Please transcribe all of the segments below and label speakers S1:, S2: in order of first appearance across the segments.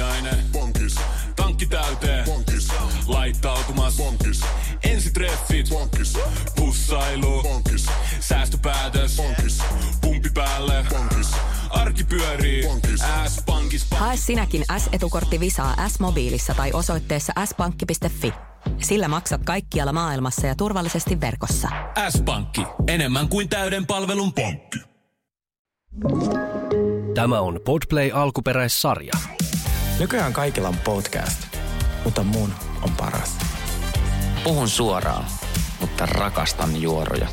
S1: aamiainen.
S2: Bonkis.
S1: Tankki täyteen.
S2: Bonkis.
S1: Laittautumas.
S2: Bonkis.
S1: Ensitreffit.
S2: Bonkis.
S1: Pussailu.
S2: Bonkis.
S1: Säästöpäätös.
S2: Bonkis.
S1: Pumpi päälle.
S2: Bonkis.
S1: Arki pyörii.
S2: Bonkis.
S1: S-pankis.
S3: Hae sinäkin S-etukortti Visaa S-mobiilissa tai osoitteessa s-pankki.fi. Sillä maksat kaikkialla maailmassa ja turvallisesti verkossa.
S1: S-pankki. Enemmän kuin täyden palvelun pankki.
S4: Tämä on Podplay alkuperäissarja.
S5: Nykyään kaikilla on podcast, mutta mun on paras.
S6: Puhun suoraan, mutta rakastan juoroja.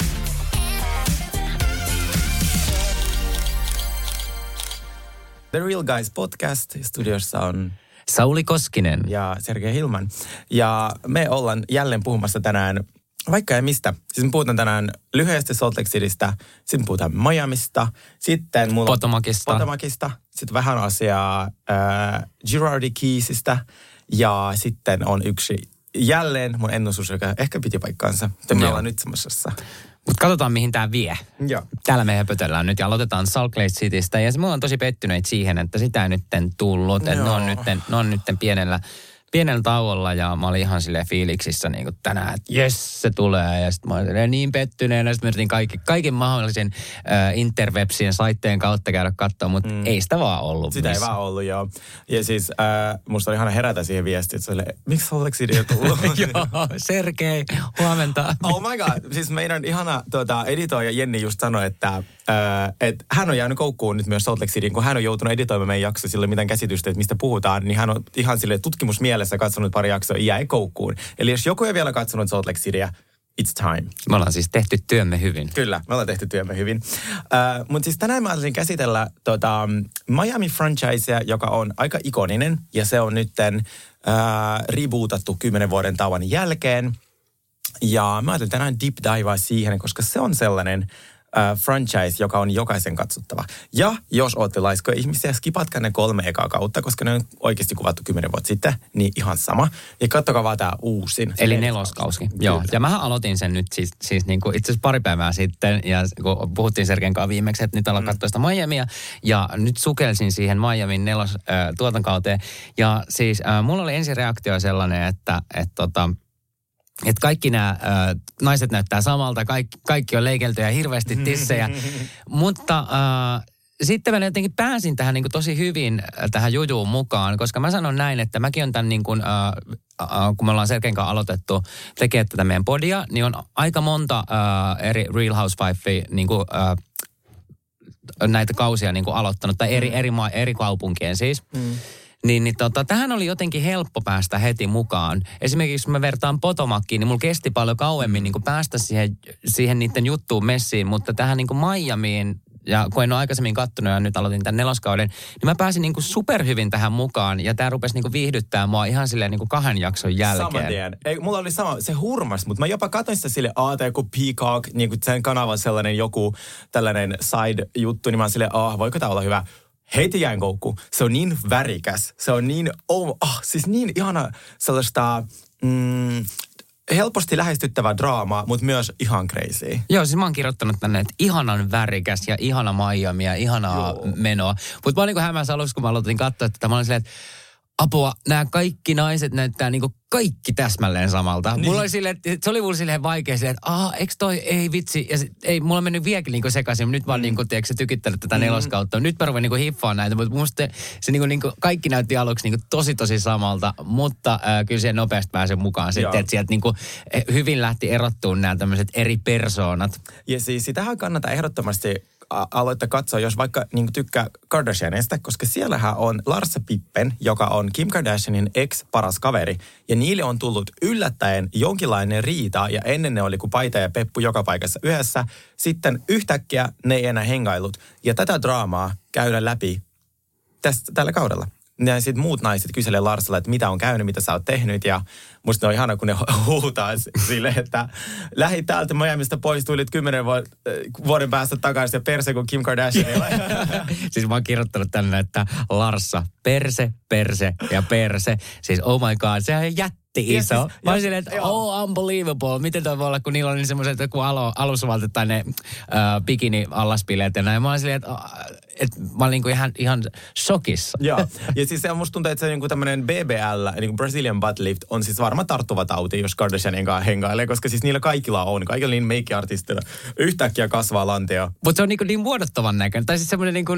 S5: The Real Guys podcast. Studiossa on
S6: Sauli Koskinen.
S5: ja Sergei Hilman. Ja me ollaan jälleen puhumassa tänään vaikka ja mistä. Siis me puhutaan tänään lyhyesti Salt Lake Citystä, sitten puhutaan Miamista, sitten mulla Potomacista, sitten vähän asiaa Girardi Keysistä ja sitten on yksi jälleen mun ennustus, joka ehkä piti paikkaansa. Me ollaan nyt semmoisessa.
S6: Mutta katsotaan, mihin tämä vie.
S5: Joo.
S6: Täällä me höpötellään nyt ja aloitetaan Salt Lake Citystä. Ja me ollaan tosi pettyneitä siihen, että sitä ei nytten tullut. Että ne on nytten pienellä tauolla ja mä olin ihan silleen fiiliksissä niin kuin tänään, että jes, se tulee. Ja sitten mä olin niin pettyneenä. Sitten me yritin kaiken mahdollisen interwebsien saitteen kautta käydä katsoa, mutta ei sitä vaan ollut.
S5: Sitä ei vaan ollut, joo. Ja siis musta oli ihana herätä siihen viestiin, että se oli, miksi Salt Lake City ei tullut?
S6: Joo, Sergei, huomenta.
S5: Oh my god, siis meidän ihana editoija Jenni just sanoi, että hän on jäänyt koukkuun nyt myös Salt Lake Cityin, kun hän on joutunut editoimaan meidän jakso sille mitään käsitystä, että mistä puhutaan, niin hän on ihan sille tutkimusmielessä katsonut pari jaksoa ja jäi koukkuun. Eli jos joku ei vielä katsonut Salt Lake Cityä, it's time.
S6: Me ollaan siis tehty työmme hyvin.
S5: Kyllä, me ollaan tehty työmme hyvin. Mutta siis tänään mä haluaisin käsitellä Miami franchisea, joka on aika ikoninen ja se on nytten rebootattu 10 vuoden tauon jälkeen. Ja mä ajattelin tänään deep divea siihen, koska se on sellainen franchise, joka on jokaisen katsottava. Ja jos ootte laiskoja ihmisiä, skipatkaa ne 3 ekaa kautta, koska ne on oikeasti kuvattu 10 vuotta sitten, niin ihan sama. Ja katsokaa vaan tää uusin.
S6: Eli 4. kausi. Joo, ja mähän aloitin sen nyt siis niin kuin itse asiassa pari päivää sitten, ja kun puhuttiin Sergen kanssa viimeksi, että nyt ollaan katsoa sitä Miamia, ja nyt sukelsin siihen Miamin 4. tuotankauteen. Ja siis mulla oli ensireaktio sellainen, että kaikki nämä naiset näyttää samalta, kaikki on leikelty ja hirveästi tissejä. Mutta sitten mä jotenkin pääsin tähän niin kuin tosi hyvin tähän jujuun mukaan, koska mä sanon näin, että mäkin on tämän niin kuin, kun me ollaan Sergen kanssa aloitettu tekemään tätä meidän podia, niin on aika monta eri Real Housewifea niin kuin, näitä kausia niin kuin aloittanut, tai eri kaupunkien siis. Tähän oli jotenkin helppo päästä heti mukaan. Esimerkiksi kun mä vertaan Potomackiin, niin mulla kesti paljon kauemmin niin kuin päästä siihen niiden juttuun messiin, mutta tähän niin kuin Miamiin, ja kun en ole aikaisemmin kattonut ja nyt aloitin tämän 4. kauden, niin mä pääsin niin kuin superhyvin tähän mukaan, ja tää rupesi niin kuin viihdyttää mua ihan silleen niin kuin 2 jakson jälkeen.
S5: Saman tien. Mulla oli sama, se hurmas, mutta mä jopa katsoin sitä sille joku Peacock, niin kuin sen kanavan sellainen joku tällainen side-juttu, niin mä oon silleen, voiko tää olla hyvä? Heti jäin koukkuun. Se on niin värikäs. Se on niin, siis niin ihana sellaista helposti lähestyttävää draamaa, mutta myös ihan crazy.
S6: Joo, siis mä oon kirjoittanut tänne, että ihanan värikäs ja ihana Miami ja ihanaa menoa. Mutta mä olin niin kuin hämässä alussa, kun mä aloitin katsoa, että mä olin silleen, että apua, nämä kaikki naiset näyttää niin kuin kaikki täsmälleen samalta. Niin. Mulla oli silleen, se oli mulle silleen vaikea silleen, että eikö toi, ei vitsi. Ja ei, mulla on mennyt vieläkin niin sekaisin. Nyt mä oon niin kuin, tiedätkö, tykittänyt tätä 4. kautta. Nyt mä ruven niin hiffaan näitä, mutta musta se niin kuin, kaikki näytti aluksi niin kuin tosi samalta. Mutta kyllä siihen nopeasti pääsen mukaan sitten, että sieltä niin kuin, hyvin lähti erottumaan nämä tämmöiset eri persoonat.
S5: Ja siis sitähän kannattaa ehdottomasti aloittaa katsoa, jos vaikka niin tykkää Kardashianista, koska siellähän on Larsa Pippen, joka on Kim Kardashianin ex-paras kaveri. Ja niille on tullut yllättäen jonkinlainen riita, ja ennen ne oli kuin Paita ja Peppu joka paikassa yhdessä. Sitten yhtäkkiä ne ei enää hengailut. Ja tätä draamaa käydään läpi tällä kaudella. Ja sitten muut naiset kyselee Larsalla, että mitä on käynyt, mitä sä oot tehnyt. Ja musta ne on ihana, kun ne huutaa sille, että lähi täältä Miamista pois, tulit 10 vuoden päästä takaisin ja perse kuin Kim Kardashianilla.
S6: Siis mä oon kirjoittanut tänne, että Larsa, perse ja perse. Siis oh my god, sehän on iso.
S5: Siis,
S6: Mä olin silleen, että unbelievable. Miten toi voi olla, kun niillä on niin semmoiset joku alusvaltit tai ne bikini-allaspileet ja näin. Mä olin silleen, että mä olin niinku ihan shokissa.
S5: Joo, ja siis musta tuntuu, että se niinku tämmönen BBL, niinku Brazilian butt lift, on siis varma tarttuva tauti, jos Kardashianin kanssa hengailee, koska siis niillä kaikilla niin make-artistilla yhtäkkiä kasvaa lantio.
S6: Mutta se on niin vuodottavan näköinen. Tai siis semmoinen niin kuin,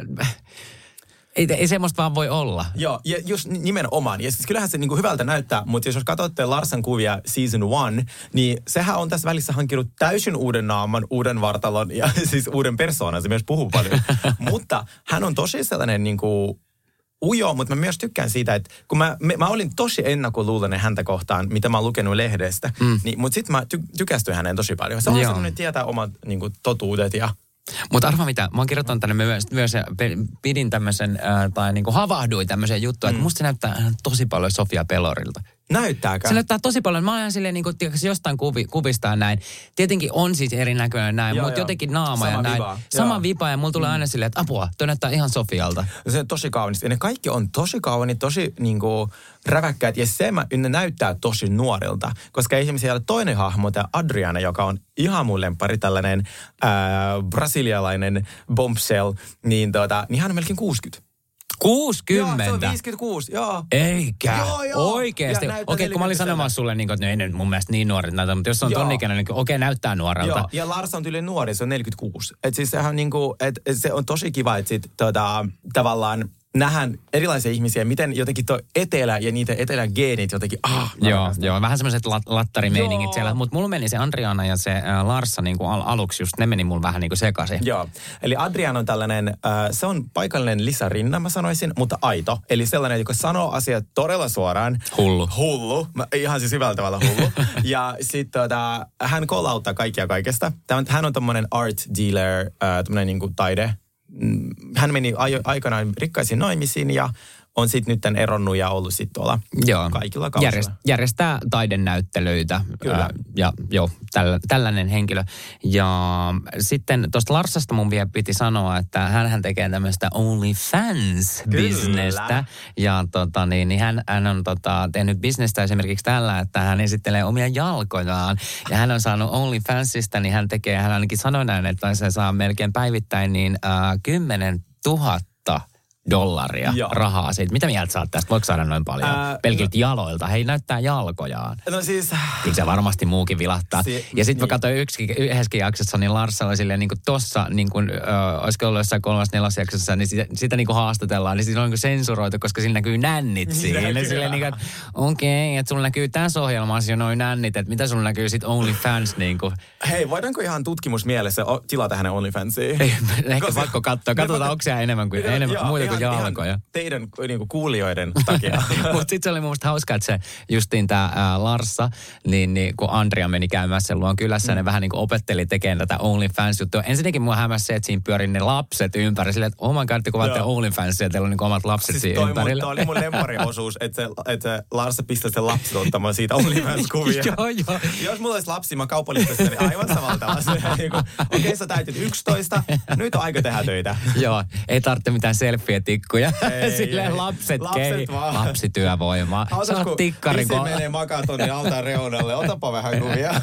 S6: ei semmoista vaan voi olla.
S5: Joo, ja just nimenomaan. Ja siis kyllähän se niinku hyvältä näyttää, mutta jos katsotte Larsan kuvia season 1, niin sehän on tässä välissä hankkinut täysin uuden naaman, uuden vartalon ja siis uuden persoonan. Se myös puhuu paljon. Mutta hän on tosi sellainen niinku ujo, mutta mä myös tykkään siitä, että kun mä olin tosi ennakkoluuloinen häntä kohtaan, mitä mä oon lukenut lehdestä, niin, mutta sitten mä tykästyin häneen tosi paljon. Se on sellainen tietää omat niinku, totuudet ja...
S6: Mutta arva mitä, mä oon kirjoittanut tänne myös pidin tämmöisen, tai niinku havahduin tämmöiseen juttuun, että musta se näyttää tosi paljon Sofia Pelorilta.
S5: Näyttääkö?
S6: Se näyttää tosi paljon. Mä oon ihan silleen niin kuin, jostain kuvista ja näin. Tietenkin on siis erinäköinen näin, mutta jotenkin naama ja näin. Sama vipa ja mulla tulee aina silleen, että apua, toi näyttää ihan Sofialta.
S5: Se on tosi kaunista. Ja ne kaikki on tosi kauniit, tosi niinku räväkkäät. Ja ne näyttää tosi nuorilta. Koska esimerkiksi siellä toinen hahmo, tämä Adriana, joka on ihan mun lemppari, tällainen brasilialainen bombshell, niin hän on melkein 60.
S6: 60?
S5: Joo, se on 56, joo.
S6: Eikä?
S5: Joo.
S6: Oikeesti? Okei, kun mä olin sanomassa sulle, niin, että ei ne mun mielestä niin nuoret näytä, mutta jos se on ton ikäinen, niin näyttää nuorelta.
S5: Joo, ja Lars on tyyli nuori, se on 46. Että siis sehän niinku, se on tosi kiva, että sit tavallaan nähdään erilaisia ihmisiä, miten jotenkin tuo etelä ja niitä etelän geenit jotenkin,
S6: Joo, vähän semmoiset lattarimeiningit siellä. Mutta mulla meni se Adriana ja se Larsa niin kuin aluksi just, ne meni mulla vähän niin kuin sekaisin.
S5: Joo, eli Adriana on tällainen, se on paikallinen Lisa Rinna, mä sanoisin, mutta aito. Eli sellainen, joka sanoo asiat todella suoraan. Hullu. Ihan siis hyvällä tavalla hullu. Ja sitten hän kollauttaa kaikkia kaikesta. Hän on tommonen art dealer, tommonen niin kuin taide. Hän meni aikanaan rikkaisiin naimisiin ja on sitten nyt eronnut ja ollut sitten tuolla kaikilla kausilla.
S6: Järjestää taidennäyttelyitä. Tällainen henkilö. Ja sitten tuosta Larsasta mun vielä piti sanoa, että hänhän tekee tämmöistä OnlyFans-bisnestä. Ja hän on tehnyt bisnestä esimerkiksi tällä, että hän esittelee omia jalkojaan. Ja hän on saanut OnlyFansista, niin hän ainakin sanoi näin, että se saa melkein päivittäin niin 10 000 dollaria rahaa siitä. Mitä mieltä sä oot tästä? Voiko saada noin paljon? Pelkiltä jaloilta. Hei, näyttää jalkojaan.
S5: No siis...
S6: Kyllä se varmasti muukin vilahtaa. Ja sitten mä katsoin yhdessäkin jaksossa, niin Larsa oli silleen niin kuin tossa, niin kuin, olisiko ollut jossain 3.4. jaksossa, niin sitä niin kuin haastatellaan. Niin siinä on niin kuin sensuroitu, koska siinä näkyy nännit siinä. Silleen niin kuin, okei, että sulla näkyy tässä ohjelmassa jo noin nännit, että mitä sulla näkyy sitten OnlyFans niin kuin.
S5: Hei, voidaanko ihan tutkimusmielessä tilata hänen OnlyFansiin?
S6: Ehkä pakko katsoa. Katsotaan, onko siellä enemmän muita kuin jalkoja.
S5: Teidän niinku kuulijoiden takia.
S6: Mutta sitten se oli mun mielestä hauskaa, että se justiin tämä Larsa, niin kun Andrea meni käymään sen luon kylässä, ne vähän niin kuin opetteli tekemään tätä OnlyFans-juttua. Ensinnäkin mua hämäsi se, että siinä pyörin ne lapset ympäri. Silleen, että my god, kun vaatte OnlyFansia, teillä on niin omat lapset siis siinä ympärillä. Toi oli
S5: mun lempariosuus, että Larsa pistää sen lapset ottamaan siitä OnlyFans-kuvia.
S6: Joo.
S5: Jos mulla olisi lapsi, mä kaupallistaisin niin aivan samalla tavalla. Okei, sä täytyt 11, nyt on aika tehdä töitä.
S6: Joo, ei tarvitse mitään selfie-tikkuja. Silleen lapset lapsityövoimaa.
S5: Sä oot tikkarin. Isi menee makaa tonne altaan reunalle. Otapa vähän kuvia.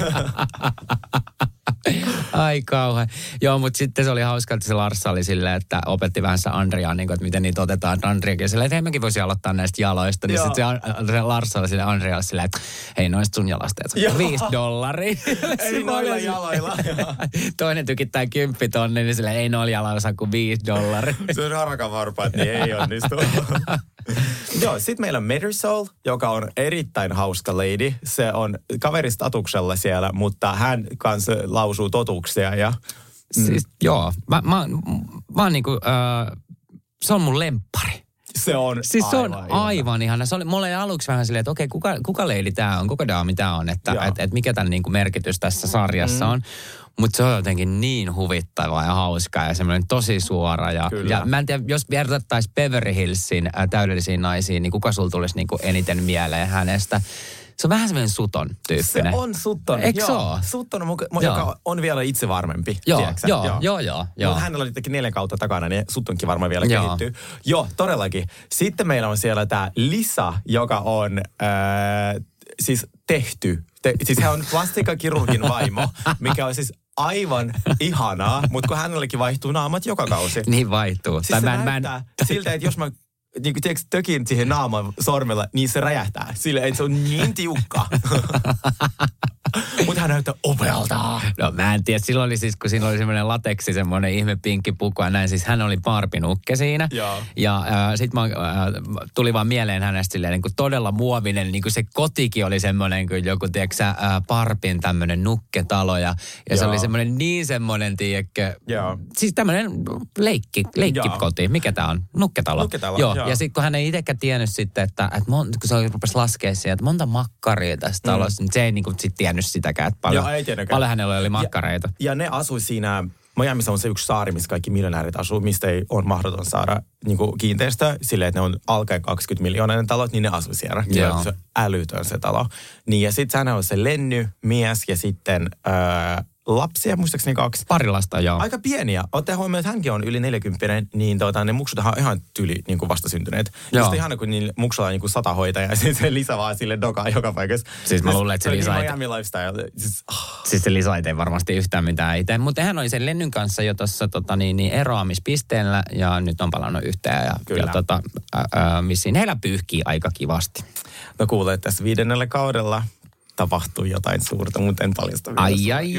S6: Ai kauhean. Joo, mutta sitten se oli hauska, että se Larsa oli silleen, että opetti vähän se Andreaa, niin kuin, että miten niitä otetaan. Andreakin silleen, että hei, mäkin voisin aloittaa näistä jaloista. Niin sitten se Larsa oli silleen Andrealle silleen, että hei, noista sun jalasteet. $5.
S5: Ei noilla jaloilla.
S6: Toinen tykittää 10 000, niin silleen, ei noilla jaloilla saa kuin $5.
S5: Se on harakan varpaat, niin ei onnistu. Joo, sitten meillä on Marisol, joka on erittäin hauska lady. Se on kaveristatuksella siellä, mutta hän kanssa lausuu totuuksia ja...
S6: Siis joo, mä oon niinku, se on mun lemppari.
S5: Se on
S6: siis se on aivan ihana. Se oli mulle aluksi vähän silleen, että okei, kuka leidi tää on, kuka daami tää on, että et mikä tämän niinku merkitys tässä sarjassa on. Mutta se on jotenkin niin huvittavaa ja hauskaa ja semmoinen tosi suora. Ja mä en tiedä, jos vertattaisiin Beverly Hillsin täydellisiin naisiin, niin kuka sulla tulisi niinku eniten mieleen hänestä? Se on vähän semmoinen Sutton tyyppinen.
S5: Se on Sutton.
S6: Eikö se ole?
S5: Sutton, joka on vielä itse varmempi.
S6: Joo.
S5: Mutta hänellä oli 4 kautta takana, niin Suttonkin varmaan vielä kehittyy. Joo, todellakin. Sitten meillä on siellä tämä Lisa, joka on siis tehty. Siis hän on plastiikkakirurgin vaimo, mikä on siis aivan ihanaa, mutta kun hänellekin vaihtuu naamat joka kausi.
S6: Niin vaihtuu.
S5: Siis se näyttää siltä, että jos mä niin kuin tiedätkö, tökin siihen naaman sormella, niin se räjähtää. Sille, että se on niin tiukka. Mutta hän näyttää upealta.
S6: No mä en tiedä, silloin oli siis, kun siinä oli semmoinen lateksi, semmoinen ihme pinkki puku ja näin. Siis hän oli Barbie-nukke siinä. Joo. Ja sit tuli vaan mieleen hänestä silleen niin kuin todella muovinen. Niin kuin se kotikin oli semmoinen kuin joku, tiedätkö Barbien tämmöinen nukketalo. Ja se oli semmoinen niin semmoinen, tiedätkö. Joo. Siis tämmöinen leikkikoti. Mikä tää on? Nukketalo. Joo. Ja sitten kun hän ei itsekään tiennyt sitten, että kun se rupesi laskea siihen, että monta makkaria tässä talossa, niin se ei niin kuin sit tiennyt sitäkään, että paljon hänellä oli makkareita.
S5: Ja ne asui siinä, Miamiissa on se yksi saari, missä kaikki miljonäärit asuu, mistä ei ole mahdoton saada niin kuin kiinteistöä, silleen, että ne on alkaen 20 miljoonainen talot, niin ne asui siellä. Se on älytön se talo. Niin ja sitten hän on se Lenny, mies ja sitten lapsia, muistaakseni 2.
S6: Pari lasta, joo.
S5: Aika pieniä. Ottaen huomioon, että hänkin on yli 40, niin ne muksut on ihan tyli niin kuin vastasyntyneet. Just ihana, kun niin muksulla on niin kuin 100 hoitajaa ja sitten se Lisa vaan sille dokaa joka paikassa.
S6: Siis mä luulen, että se Lisa
S5: Miami lifestyle.
S6: Siis se Lisa ei varmasti yhtään mitään itse. Mutta hän oli sen Lennyn kanssa jo tuossa eroamispisteellä ja nyt on palannut yhteen. Ja missiin heillä pyyhkii aika kivasti.
S5: No kuulee, että tässä 5. kaudella tapahtui jotain suurta, mutta en paljasta.
S6: Ai.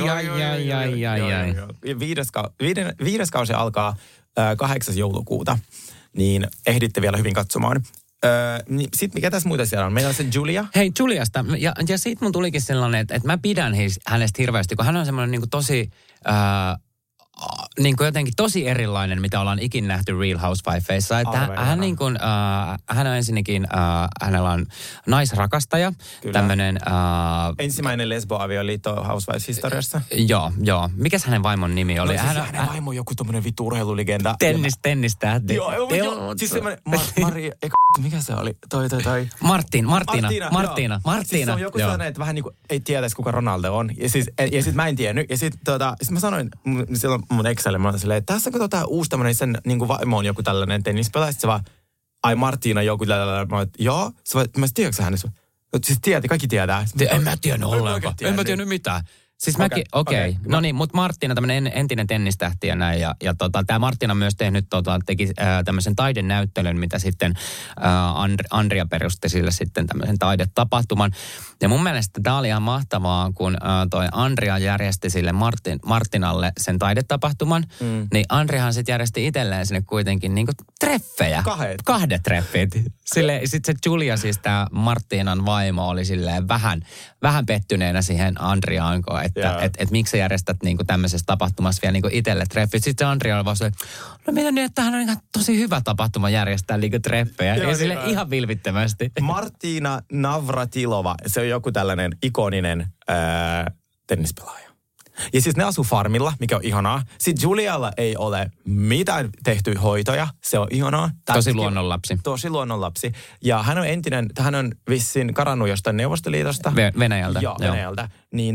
S5: 5. kausi alkaa 8. joulukuuta, niin ehditte vielä hyvin katsomaan. Sitten mikä tässä muita siellä on? Meillä on se Julia.
S6: Hei, Juliasta. Ja siitä mun tulikin sellainen, että mä pidän hänestä hirveästi, kun hän on semmoinen niin kuin tosi niin kuin jotenkin tosi erilainen, mitä ollaan ikin nähty Real Housewifeissa. Että hän on ensinnäkin, hänellä on naisrakastaja. Tämmöinen
S5: ensimmäinen lesboavioliitto Housewives-historiassa.
S6: Joo. Mikäs hänen vaimon nimi oli?
S5: No, siis hänen vaimo on joku tommonen vitu urheilulegenda.
S6: Tennistähti.
S5: Joo. Siis semmoinen, mikä se oli? Toi. Martina. Siis se on joku sellainen, että vähän niin kuin ei tietäisi, kuka Ronaldo on. Ja sit mä en tiennyt. Ja sit mä sanoin silloin mun Excelle, mä olin silleen, että tässä kun uusi tämmöinen, sen niin kuin vaimo on joku tällainen tennispelaaja. Sitten se vaan, Martina joku tällainen. Mä olin, joo. Mä tiedätkö hänestä? Siis kaikki tietää.
S6: En mä tiennyt ollenkaan. En mä tiennyt mitään. Siis mäkin, okei. No niin, mutta Martina, tämmöinen entinen tennistähti ja näin. Ja tämä Martina myös teki tämmöisen taidenäyttelyn, mitä sitten Andrea perusti sille sitten tämmöisen taidetapahtuman. Ja mun mielestä tämä oli ihan mahtavaa, kun toi Andrea järjesti sille Martinalle sen taidetapahtuman. Niin Andreahan sitten järjesti itselleen sinne kuitenkin niinku treffejä. 2 treffit. Sitten se Julia, siis tämä Martinan vaimo, oli silleen vähän pettyneenä siihen Andreaan, että miksi sä järjestät niinku tämmöisessä tapahtumassa vielä niinku itselle treffit. Sitten se Andrea oli vaan se, no mitä nyt, että hän on ihan tosi hyvä tapahtuma järjestää niinku treffejä. Ja sille ihan vilvittömästi.
S5: Martina Navratilova, se on joku tällainen ikoninen tennispelaaja. Ja siis ne asuu farmilla, mikä on ihanaa. Sitten Julialla ei ole mitään tehty hoitoja. Se on ihanaa. Tosi luonnonlapsi. Ja hän on vissiin karannut jostain Neuvostoliitosta.
S6: Venäjältä.
S5: Joo, Venäjältä. Niin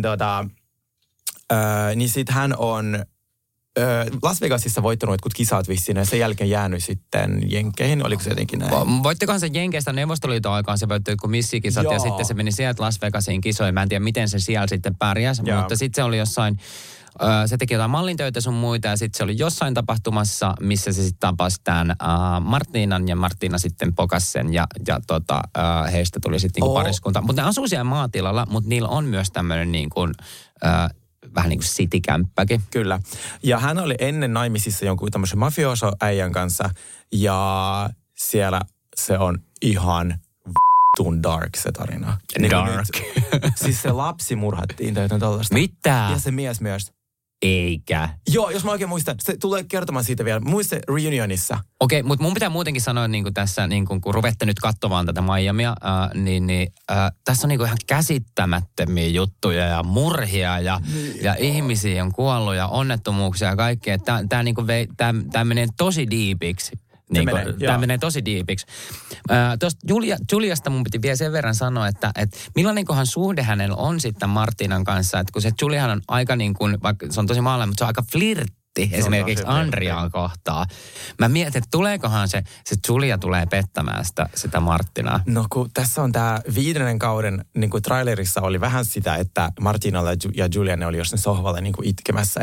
S5: niin sit hän on Las Vegasissa voittanut jotkut kisat vissiin ja sen jälkeen jäänyt sitten Jenkkeihin. Oliko se jotenkin näin?
S6: Voittikohan se Jenkeistä Neuvostoliiton aikaan, se voitti jotkut missikisat ja sitten se meni sieltä Las Vegasiin kisoihin. Mä en tiedä, miten se siellä sitten pärjäsi, mutta sitten se oli jossain, se teki jotain mallintöitä sun muita ja sitten se oli jossain tapahtumassa, missä se sitten tapasi tämän Martinan ja Martina sitten pokas sen ja heistä tuli sitten niinku pariskunta. Mutta ne asuu siellä maatilalla, mutta niillä on myös tämmöinen niin kuin vähän niin kuin citykämppäkin.
S5: Kyllä. Ja hän oli ennen naimisissa jonkun tämmöisen mafioso-äijän kanssa. Ja siellä se on ihan v***tun dark se tarina.
S6: Dark.
S5: Siis se lapsi murhattiin tai jotain tällaista.
S6: Mitä?
S5: Ja se mies myös.
S6: Eikä.
S5: Joo, jos mä oikein muistan. Se tulee kertomaan siitä vielä. Muista reunionissa.
S6: Okei, mutta mun pitää muutenkin sanoa niin kuin tässä, niin kuin, kun ruvette nyt katsomaan tätä Miamia, tässä on niin kuin ihan käsittämättömiä juttuja ja murhia ja ihmisiä on kuollut ja onnettomuuksia ja kaikkea. Tämä menee tosi diipiksi. Tämä menee tosi diipiksi. Tuosta Juliasta mun piti vielä sen verran sanoa, että millainenkohan suhde hänellä on sitten Martinan kanssa. Että kun se Juliahan on aika niin kuin, vaikka se on tosi maalainen, mutta se on aika Martti esimerkiksi Andriaan kohtaa. Mä mietin, että tuleekohan se Julia tulee pettämään sitä Marttinaa.
S5: No kun tässä on tämä 5. kauden, niin kuin trailerissa oli vähän sitä, että Martinalla ja Julia ne oli jossain sohvalla niin kuin itkemässä,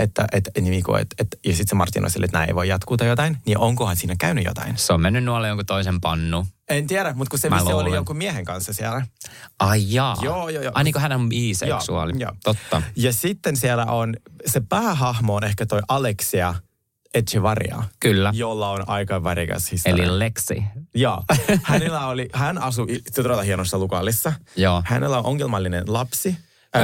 S5: ja sitten se Martin on sille, että näin ei voi jatkuu tai jotain, niin onkohan siinä käynyt jotain?
S6: Se on mennyt nuolle jonkun toisen pannu.
S5: En tiedä, mutta kun se oli jonkun miehen kanssa siellä.
S6: Ai jaa.
S5: Joo.
S6: Ai niin kuin hän on biseksuaali.
S5: Joo.
S6: Totta.
S5: Ja sitten siellä on, se päähahmo on ehkä toi Alexia Echevarria.
S6: Kyllä.
S5: Jolla on aika värikäs historia.
S6: Eli Lexi.
S5: Joo. Hän asui todella hienossa Lugallissa.
S6: Joo.
S5: Hänellä on ongelmallinen lapsi.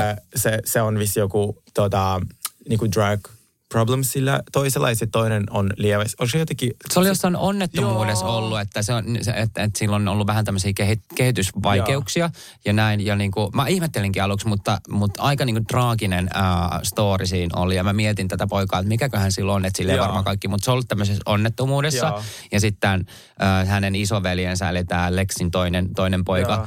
S5: Se on vissi joku niinku drug problem sillä toisella ja sitten toinen on lievä.
S6: Se oli jossain onnettomuudessa ollut, että että sillä on ollut vähän tämmöisiä kehitysvaikeuksia ja näin. Ja niinku, mä ihmettelinkin aluksi, mutta aika niinku traaginen story siinä oli. Ja mä mietin tätä poikaa, että mikäköhän sillä on, että sillä ei varmaan kaikki. Mutta se on ollut tämmöisessä onnettomuudessa. Joo. Ja sitten hänen isoveljensä, eli tämä Lexin toinen poika,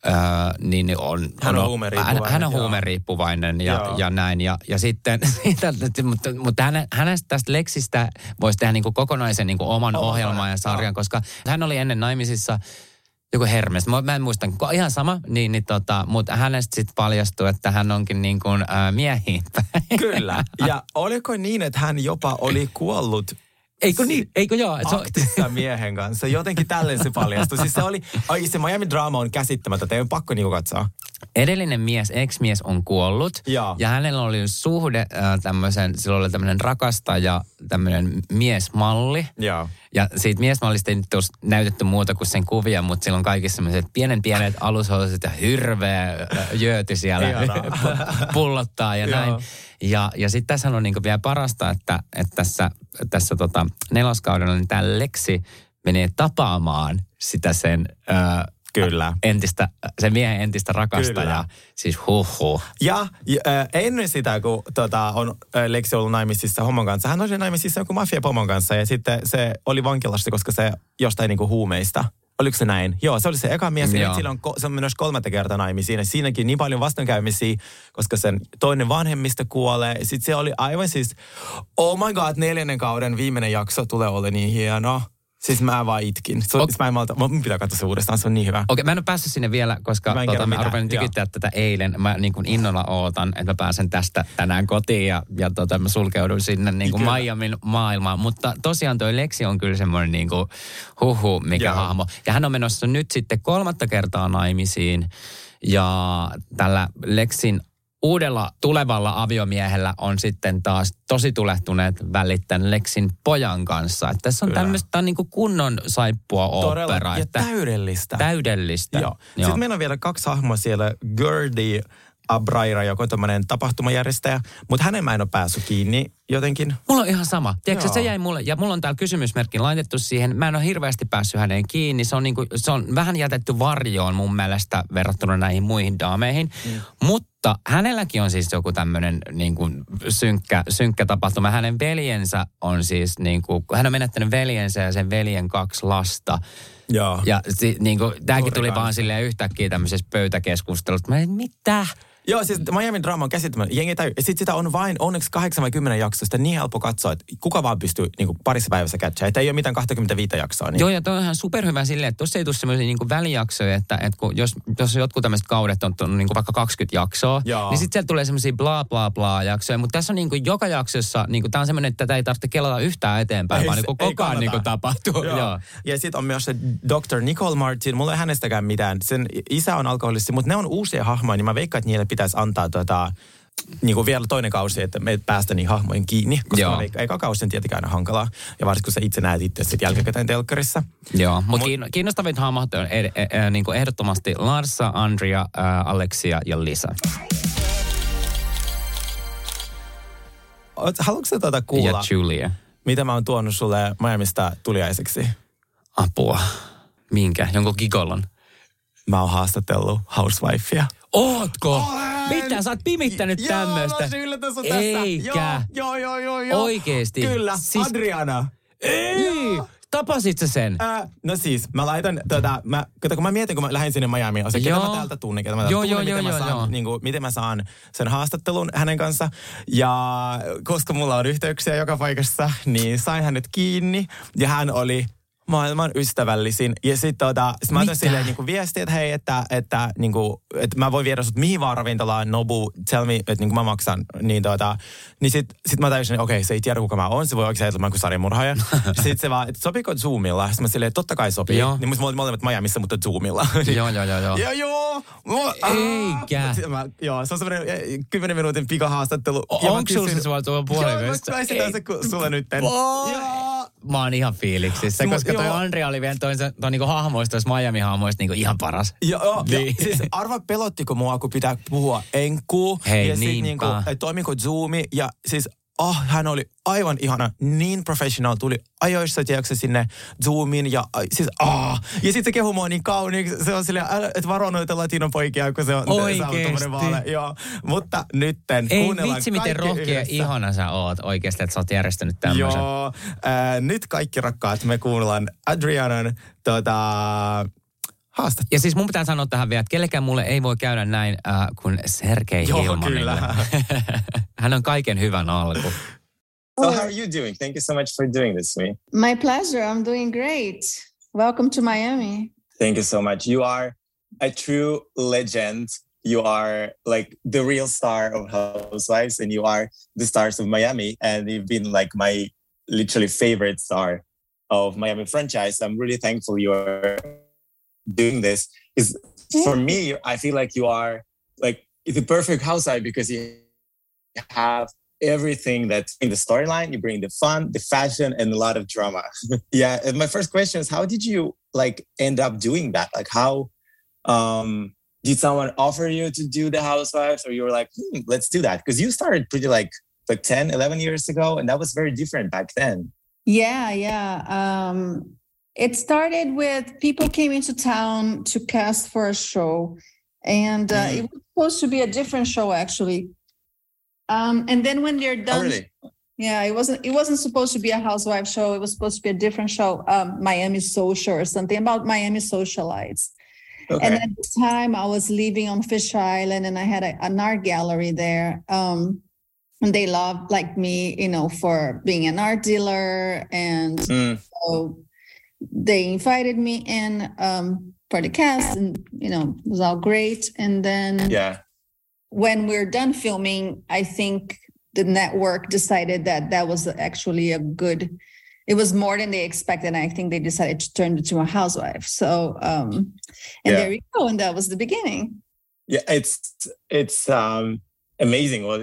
S6: niin hän on huumeriippuvainen ja näin. Ja sitten, mutta hänestä tästä Lexistä voisi tehdä niin kuin kokonaisen niin kuin oman ohjelman ja sarjan, koska hän oli ennen naimisissa joku Hermes. Mä en muista, ihan sama, mutta hänestä sitten paljastui, että hän onkin niin kuin miehiin päin.
S5: Kyllä. Ja oliko niin, että hän jopa oli kuollut?
S6: Eikö niin? Eikö joo?
S5: Aktissa miehen kanssa. Jotenkin tälleen se paljastui. Siis se Miami Drama on käsittämättä. Teidän on pakko niinku katsoa.
S6: Edellinen ex-mies on kuollut. Ja hänellä oli suhde sillä oli tämmöinen rakastaja, tämmöinen miesmalli. Ja siitä miesmallista ei nyt ole näytetty muuta kuin sen kuvia, mutta sillä on kaikissa sellaiset pienet alushousut ja hirveä jööti siellä pullottaa ja näin. Ja sitten tässä on niinku vielä parasta, että tässä 4. kaudella niin tämä Lexi menee tapaamaan sitä sen
S5: kyllä.
S6: Sen miehen entistä rakastajaa. Kyllä. Siis huhhuh.
S5: Ja ennen sitä, kun on Lexi ollut naimisissa homon kanssa, hän oli naimisissa joku mafiapomon kanssa ja sitten se oli vankilassa, koska se jostain niinku huumeista. Oliko se näin? Joo, se oli se eka mies. Ja se on myös 3. kertaa naimisiin. Ja siinäkin niin paljon vastoinkäymisiä, koska sen toinen vanhemmista kuolee. Sitten se oli aivan siis, oh my god, 4. kauden viimeinen jakso tulee olla niin hieno. Siis mä vaan itkin. Mun pitää katsoa se uudestaan, se on niin hyvä.
S6: Okei, mä en ole päässyt sinne vielä, koska mä rupean tykittää tätä eilen. Mä niin kuin innolla ootan, että mä pääsen tästä tänään kotiin ja mä sulkeudun sinne niin kuin Miamin maailmaan. Mutta tosiaan toi Lexi on kyllä semmoinen niin kuin mikä hahmo. Ja hän on menossa nyt sitten 3. kertaa naimisiin. Ja tällä Lexin uudella tulevalla aviomiehellä on sitten taas tosi tulehtuneet välit tämän Lexin pojan kanssa. Että tässä on tämmöistä niin kuin kunnon saippua opera.
S5: Ja täydellistä.
S6: Täydellistä.
S5: Joo. Sitten meillä on vielä 2 hahmoa siellä. Gertie Abraira, joka on tämmöinen tapahtumajärjestäjä, mutta hänen mä en ole päässyt kiinni jotenkin.
S6: Mulla on ihan sama. Tiedätkö, se jäi mulle, ja mulla on täällä kysymysmerkki laitettu siihen. Mä en ole hirveästi päässyt häneen kiinni. Se on vähän jätetty varjoon mun mielestä verrattuna näihin muihin daameihin. Mutta hänelläkin on siis joku tämmöinen niin kuin synkkä tapahtuma. Hänen veljensä on siis niin kuin, hän on menettänyt veljensä ja sen veljen 2 lasta.
S5: Joo.
S6: Ja niin kuin, tämäkin tuli vaan silleen yhtäkkiä tämmöisessä pöytäkeskustelusta. Mä en, mitä?
S5: Joo, siis Miami Drama on käsittämätön. Sitten sitä on vain onneksi 8 vai 10 jaksosta niin helppo katsoa, että kuka vaan pystyy niin kuin parissa päivässä catchaa. Että ei ole mitään 25 jaksoa. Niin.
S6: Joo, ja toi on ihan superhyvä silleen, että tuossa ei tule semmoisia niin kuin välijaksoja, että kun jos jotkut tämmöiset kaudet on niin kuin vaikka 20 jaksoa, niin sitten sieltä tulee semmoisia bla bla bla jaksoja. Mutta tässä on niin kuin joka jaksossa, niin kuin, tämä on semmoinen, että tätä ei tarvitse kelata yhtään eteenpäin, vaan niin kuin koko ajan niin kuin tapahtuu. Joo.
S5: Ja sitten on myös se Dr. Nicole Martin. Mulla ei hänestäkään mitään. Sen isä on alkoholisti, mutta ne on uusia hahmoja, niin mä veikkaan, että niille pitäisi antaa niin kuin vielä toinen kausi, että me päästä niin hahmojen kiinni, koska eka kausi on tietenkään aina hankalaa. Ja varsinkin kun sä itse näet itse sitten jälkikäteen telkkarissa.
S6: Joo, mutta kiinnostavit hahmot on niin kuin ehdottomasti Larsa, Andrea, Alexia ja Lisa.
S5: Haluatko sä kuulla,
S6: ja Julia,
S5: mitä mä oon tuonut sulle Miamista tuliaiseksi?
S6: Apua. Minkä? Jonkun gigolon?
S5: Mä oon haastatellut housewifea.
S6: Ootko? Mitä? Sä oot pimittänyt tämmöistä?
S5: Joo, yllätys on
S6: tässä. Eikä.
S5: Joo.
S6: Oikeesti.
S5: Kyllä, siis, Adriana.
S6: Ei. Tapasit sä sen?
S5: No siis, mä laitan, kun mä mietin, kun mä lähdin sinne Miamiin, ketä mä täältä tunnen, miten mä saan sen haastattelun hänen kanssa. Ja koska mulla on yhteyksiä joka paikassa, niin sain hänet kiinni ja hän oli maailman ystävällisin. Ja sitten sit mä otan silleen niinku viestiä, että hei, että mä voin viedä sut mihin vaan ravintolaan, Nobu, tell me, että niinku mä maksan. Niin sit mä tajusin, että okei, se ei tiedä kuka mä oon, se voi oikein ajatella, että mä oon kuin sarjamurhaaja. Sitten se vaan, että sopiiko Zoomilla? Sitten mä silleen, että totta kai sopii. Joo. Niin musta molemmat Miamissa, mutta Zoomilla. Joo.
S6: Eikä.
S5: Se on semmoinen 10 minuutin pikahaastattelu.
S6: Onko sulla se sulla tuolla puolivesta?
S5: Joo, mä esitän se sulle nytten.
S6: Mä oon ihan fiiliksissä, koska toi Andrea oli vielä toi niinku hahmoista, tois Miami-hahmoista niinku ihan paras.
S5: Joo, niin. Siis arva pelottiko mua, kun pitää puhua enkkuu.
S6: Hei,
S5: ja
S6: niinpä.
S5: Niinku, toimiko Zoomi ja siis hän oli aivan ihana, niin professional, tuli ajoissa, tiedätkö, sinne Zoomiin ja siis ja sit se kehu mua niin kauniiksi, se on silleen, että varo noita latinon poikia, kun se on tommoinen vaale. Joo, mutta nytten kuunnellaan
S6: vitsi, miten rohkea ja ihana sä oot oikeasti, että sä oot järjestänyt tämmöisen.
S5: Joo, nyt kaikki rakkaat, me kuunnellaan Adrianan haastattelua.
S6: Ja siis mun pitää sanoa tähän vielä, että kellekään mulle ei voi käydä näin kuin Sergei Hilmanille. Hän on kaiken hyvän alku.
S2: So how are you doing? Thank you so much for doing this to me.
S7: My pleasure. I'm doing great. Welcome to Miami.
S2: Thank you so much. You are a true legend. You are like the real star of Housewives and you are the stars of Miami. And you've been like my literally favorite star of Miami franchise. I'm really thankful you're doing this. Because for me, I feel like you are like the perfect housewife because you have everything that's in the storyline. You bring the fun, the fashion, and a lot of drama. Yeah. And my first question is, how did you like end up doing that? Like how did someone offer you to do the Housewives or you were like, let's do that? Because you started pretty like 10, 11 years ago. And that was very different back then.
S7: Yeah. It started with people came into town to cast for a show. And it was supposed to be a different show, actually. And then when they're done,
S2: really?
S7: Yeah, it wasn't supposed to be a housewife show. It was supposed to be a different show, Miami Social or something about Miami socialites. Okay. And at the time I was living on Fish Island and I had an art gallery there. And they loved like me, for being an art dealer. And so they invited me in for the cast and, it was all great. And then when we're done filming, I think the network decided that was actually it was more than they expected. And I think they decided to turn it to a housewife. So, there we go. And that was the beginning.
S2: Yeah, it's amazing what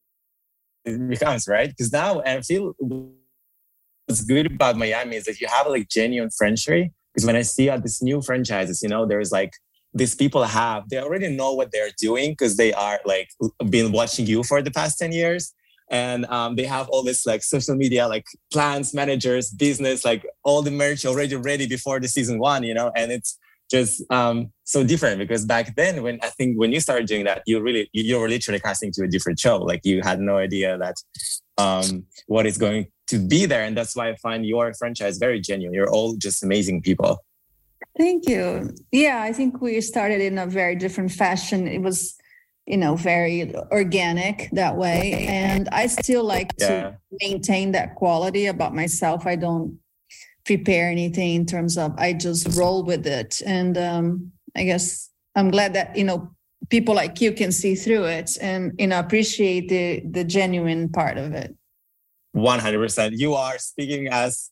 S2: it becomes, right? Because now I feel what's good about Miami is that you have like genuine friendship. Because when I see these new franchises, there's like, these people they already know what they're doing because they are like been watching you for the past 10 years. And they have all this like social media, like plans, managers, business, like all the merch already ready before the season 1, and it's just so different because back then when you started doing that, you were literally casting to a different show. Like you had no idea that what is going to be there. And that's why I find your franchise very genuine. You're all just amazing people.
S7: Thank you. Yeah, I think we started in a very different fashion. It was, very organic that way. And I still like to maintain that quality about myself. I don't prepare anything in terms of, I just roll with it. And I guess I'm glad that, people like you can see through it and, appreciate the genuine part of it.
S2: 100%. You are speaking as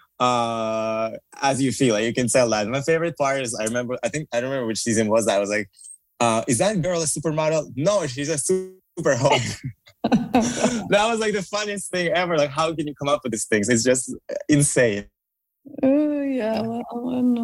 S2: you feel. Like you can tell that. My favorite part is I don't remember which season was that. I was like, is that girl a supermodel? No, she's a super hot. That was like the funniest thing ever. Like, how can you come up with these things? It's just insane.
S7: Oh yeah, well, no.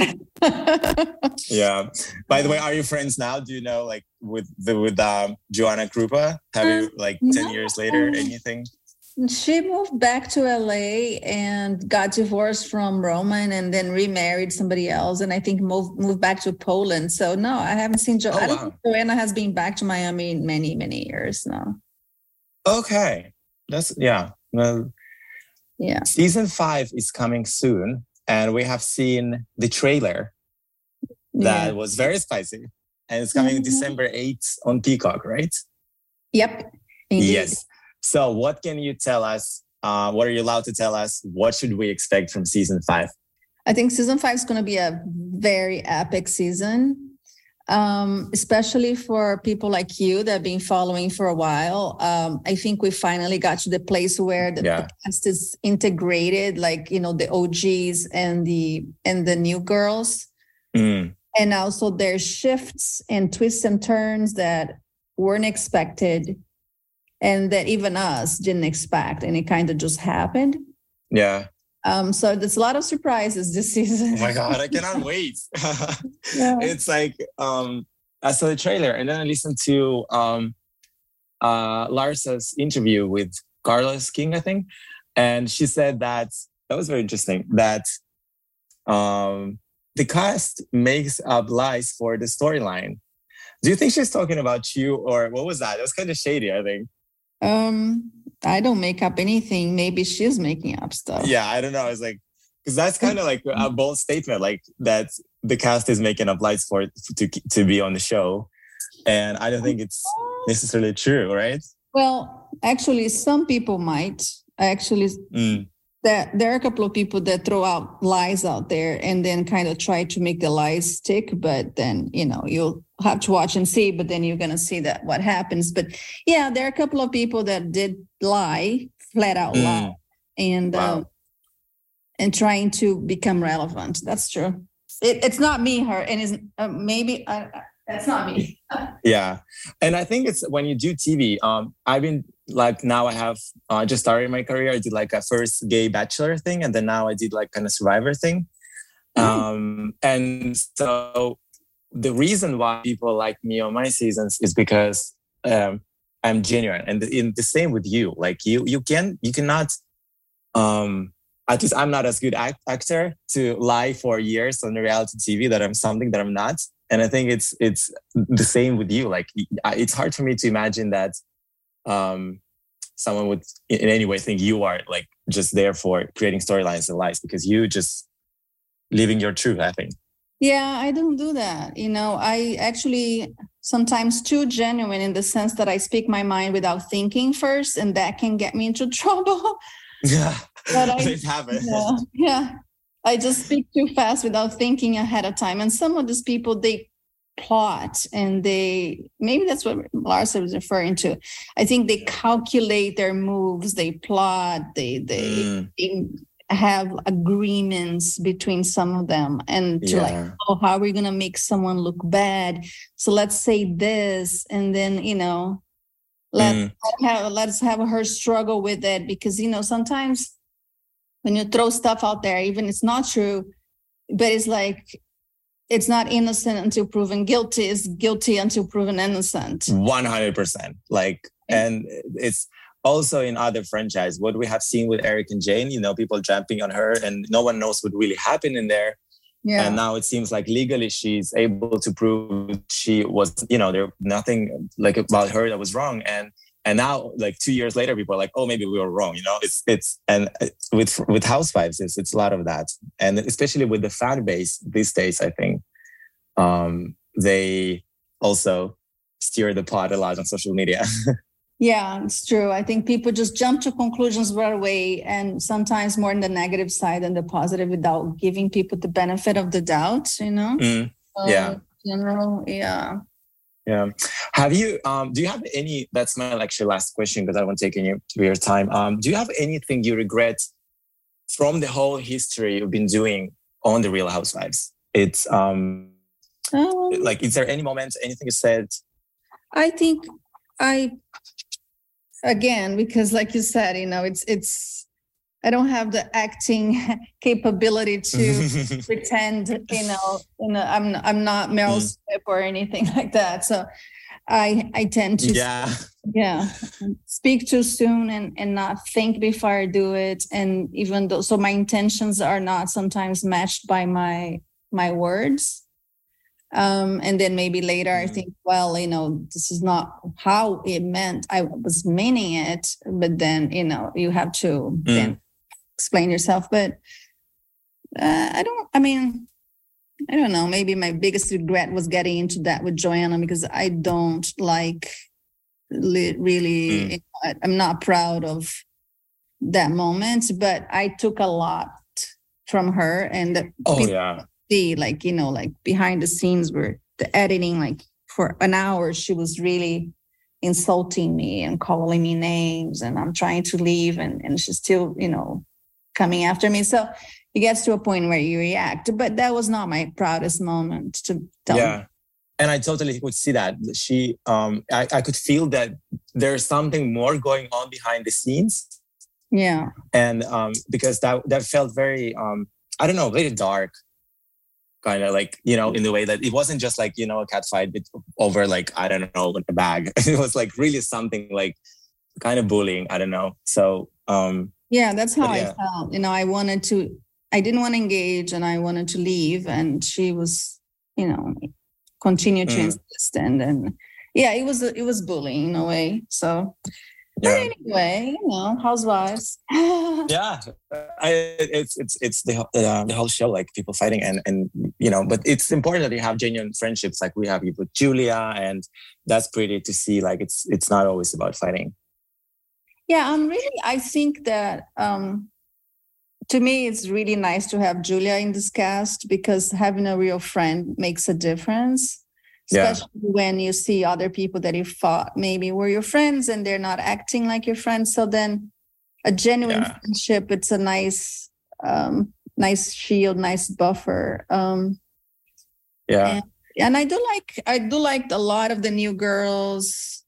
S2: Yeah. By the way, are you friends now? Do you know like with Joanna Krupa? Have you like 10 years later anything?
S7: She moved back to LA and got divorced from Roman and then remarried somebody else. And I think moved back to Poland. So no, I haven't seen Joanna. I don't think Joanna has been back to Miami in many, many years now.
S2: Okay. Well,
S7: Yeah.
S2: Season 5 is coming soon, and we have seen the trailer that was very spicy, and it's coming December 8th on Peacock, right?
S7: Yep. Indeed.
S2: Yes. So what can you tell us? What are you allowed to tell us? What should we expect from season 5?
S7: I think season 5 is going to be a very epic season, especially for people like you that have been following for a while. I think we finally got to the place where the cast is integrated, like, you know, the OGs and the new girls. And also there's shifts and twists and turns that weren't expected and that even us didn't expect, and it kind of just happened.
S2: Yeah.
S7: So there's a lot of surprises this season.
S2: Oh my God, I cannot wait. It's like, I saw the trailer and then I listened to Larsa's interview with Carlos King, I think. And she said that was very interesting, that the cast makes up lies for the storyline. Do you think she's talking about you, or what was that? It was kind of shady, I think.
S7: I don't make up anything. Maybe she's making up stuff.
S2: Yeah, I don't know. It's like, because that's kind of like a bold statement, like that the cast is making up lies for to be on the show. And I don't think it's necessarily true, right?
S7: Well, actually, some people might. There are a couple of people that throw out lies out there and then kind of try to make the lies stick. But then, you know, you'll have to watch and see, but then you're going to see that what happens. But yeah, there are a couple of people that did lie, flat out lie, and trying to become relevant. That's true. It's not me, her, and is maybe that's not me.
S2: Yeah. And I think it's when you do TV, I've been like, now I have just started my career. I did like a first gay bachelor thing. And then now I did like kind of survivor thing. And so the reason why people like me on my seasons is because I'm genuine. And in the same with you, like you cannot, at least I'm not as good actor to lie for years on reality TV that I'm something that I'm not. And I think it's the same with you. Like, it's hard for me to imagine that someone would in any way think you are like just there for creating storylines and lies, because you just living your truth, I think.
S7: Yeah, I don't do that. You know, I actually sometimes too genuine in the sense that I speak my mind without thinking first, and that can get me into trouble.
S2: Yeah,
S7: but
S2: things happen.
S7: Yeah. I just speak too fast without thinking ahead of time. And some of these people, they plot and maybe that's what Larsa was referring to. I think they calculate their moves, they plot, they have agreements between some of them. And to like, how are we going to make someone look bad? So let's say this, and then, you know, let's have her struggle with it, because, you know, sometimes when you throw stuff out there, even it's not true, but it's like, it's not innocent until proven guilty. It's guilty until proven innocent.
S2: 100%. Like, and it's also in other franchise, what we have seen with Eric and Jane, you know, people jumping on her and no one knows what really happened in there. Yeah. And now it seems like legally she's able to prove she was, you know, there nothing like about her that was wrong. And now, like 2 years later, people are like, "Oh, maybe we were wrong." You know, it's and with Housewives, it's a lot of that, and especially with the fan base these days, I think they also steer the pot a lot on social media.
S7: Yeah, it's true. I think people just jump to conclusions right away, and sometimes more on the negative side than the positive, without giving people the benefit of the doubt. You know.
S2: Yeah.
S7: In general, yeah.
S2: Yeah. Have you, do you have any, that's my actually last question because I won't take any of your time. Do you have anything you regret from the whole history you've been doing on The Real Housewives? It's like, is there any moment, anything you said?
S7: I think again, because like you said, you know, it's, I don't have the acting capability to pretend, you know, I'm not Meryl Streep or anything like that. So I tend to speak too soon and not think before I do it. And even though, so my intentions are not sometimes matched by my words. And then maybe later I think, well, you know, this is not how it meant. I was meaning it, but then, you know, you have to then explain yourself. But I don't know. Maybe my biggest regret was getting into that with Joanna, because I don't like really, I'm not proud of that moment, but I took a lot from her. And see, like, like behind the scenes where the editing, like for an hour, she was really insulting me and calling me names, and I'm trying to leave, and she's still, coming after me. So it gets to a point where you react, but that was not my proudest moment to tell me.
S2: And I totally could see that. She, I could feel that there's something more going on behind the scenes.
S7: Yeah.
S2: And because that felt very, I don't know, very dark, kind of like, in the way that it wasn't just like, a cat fight over like, I don't know, like a bag. It was like really something like kind of bullying. I don't know. So,
S7: that's how I felt. I didn't want to engage, and I wanted to leave, and she was, continue to insist. And it was bullying in a way. So, but anyway, housewives.
S2: It's the whole show, like people fighting and but it's important that you have genuine friendships like we have with Julia, and that's pretty to see. Like it's not always about fighting.
S7: Yeah, I think that to me it's really nice to have Julia in this cast, because having a real friend makes a difference. Especially when you see other people that you thought maybe were your friends and they're not acting like your friends. So then a genuine friendship, it's a nice shield, nice buffer. And I do like a lot of the new girls.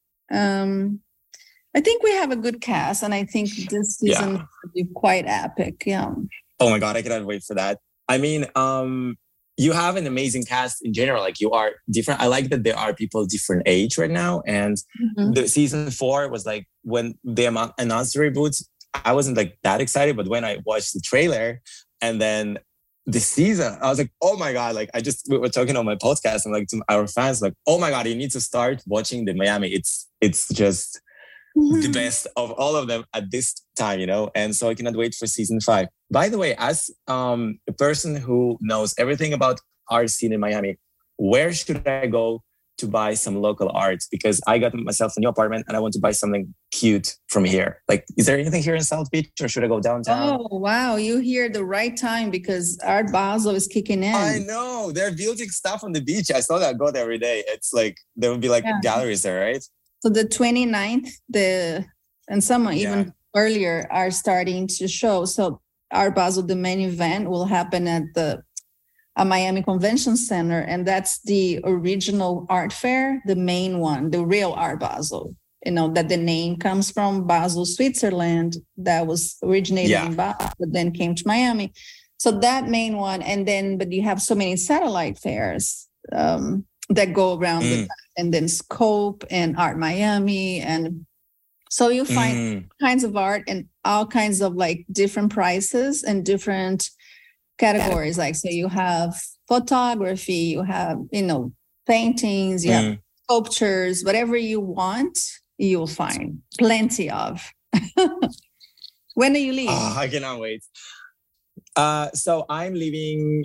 S7: I think we have a good cast, and I think this season will be quite epic. Yeah.
S2: Oh my God, I cannot wait for that. I mean, you have an amazing cast in general. Like you are different. I like that there are people different age right now. And the season 4 was like when they announced the reboot, I wasn't like that excited. But when I watched the trailer and then the season, I was like, oh my God. Like we were talking on my podcast and like to our fans, like, oh my God, you need to start watching the Miami. It's just the best of all of them at this time, and so I cannot wait for season 5. By the way, as a person who knows everything about art scene in Miami, where should I go to buy some local art? Because I got myself a new apartment and I want to buy something cute from here. Like, is there anything here in South Beach, or should I go downtown?
S7: Oh, wow. You here the right time, because Art Basel is kicking in.
S2: I know. They're building stuff on the beach. I saw that. I go there every day. It's like, there will be like galleries there, right?
S7: So the 29th, and some even earlier are starting to show. So Art Basel, the main event, will happen at the Miami Convention Center. And that's the original art fair, the main one, the real Art Basel. That the name comes from Basel, Switzerland, that was originated in Basel, but then came to Miami. So that main one. And then, but you have so many satellite fairs that go around the time. And then Scope and Art Miami. And so you find kinds of art and all kinds of like different prices and different categories. Like, so you have photography, you have, paintings, you have sculptures, whatever you want, you'll find plenty of. When do you leave?
S2: Oh, I cannot wait. So I'm leaving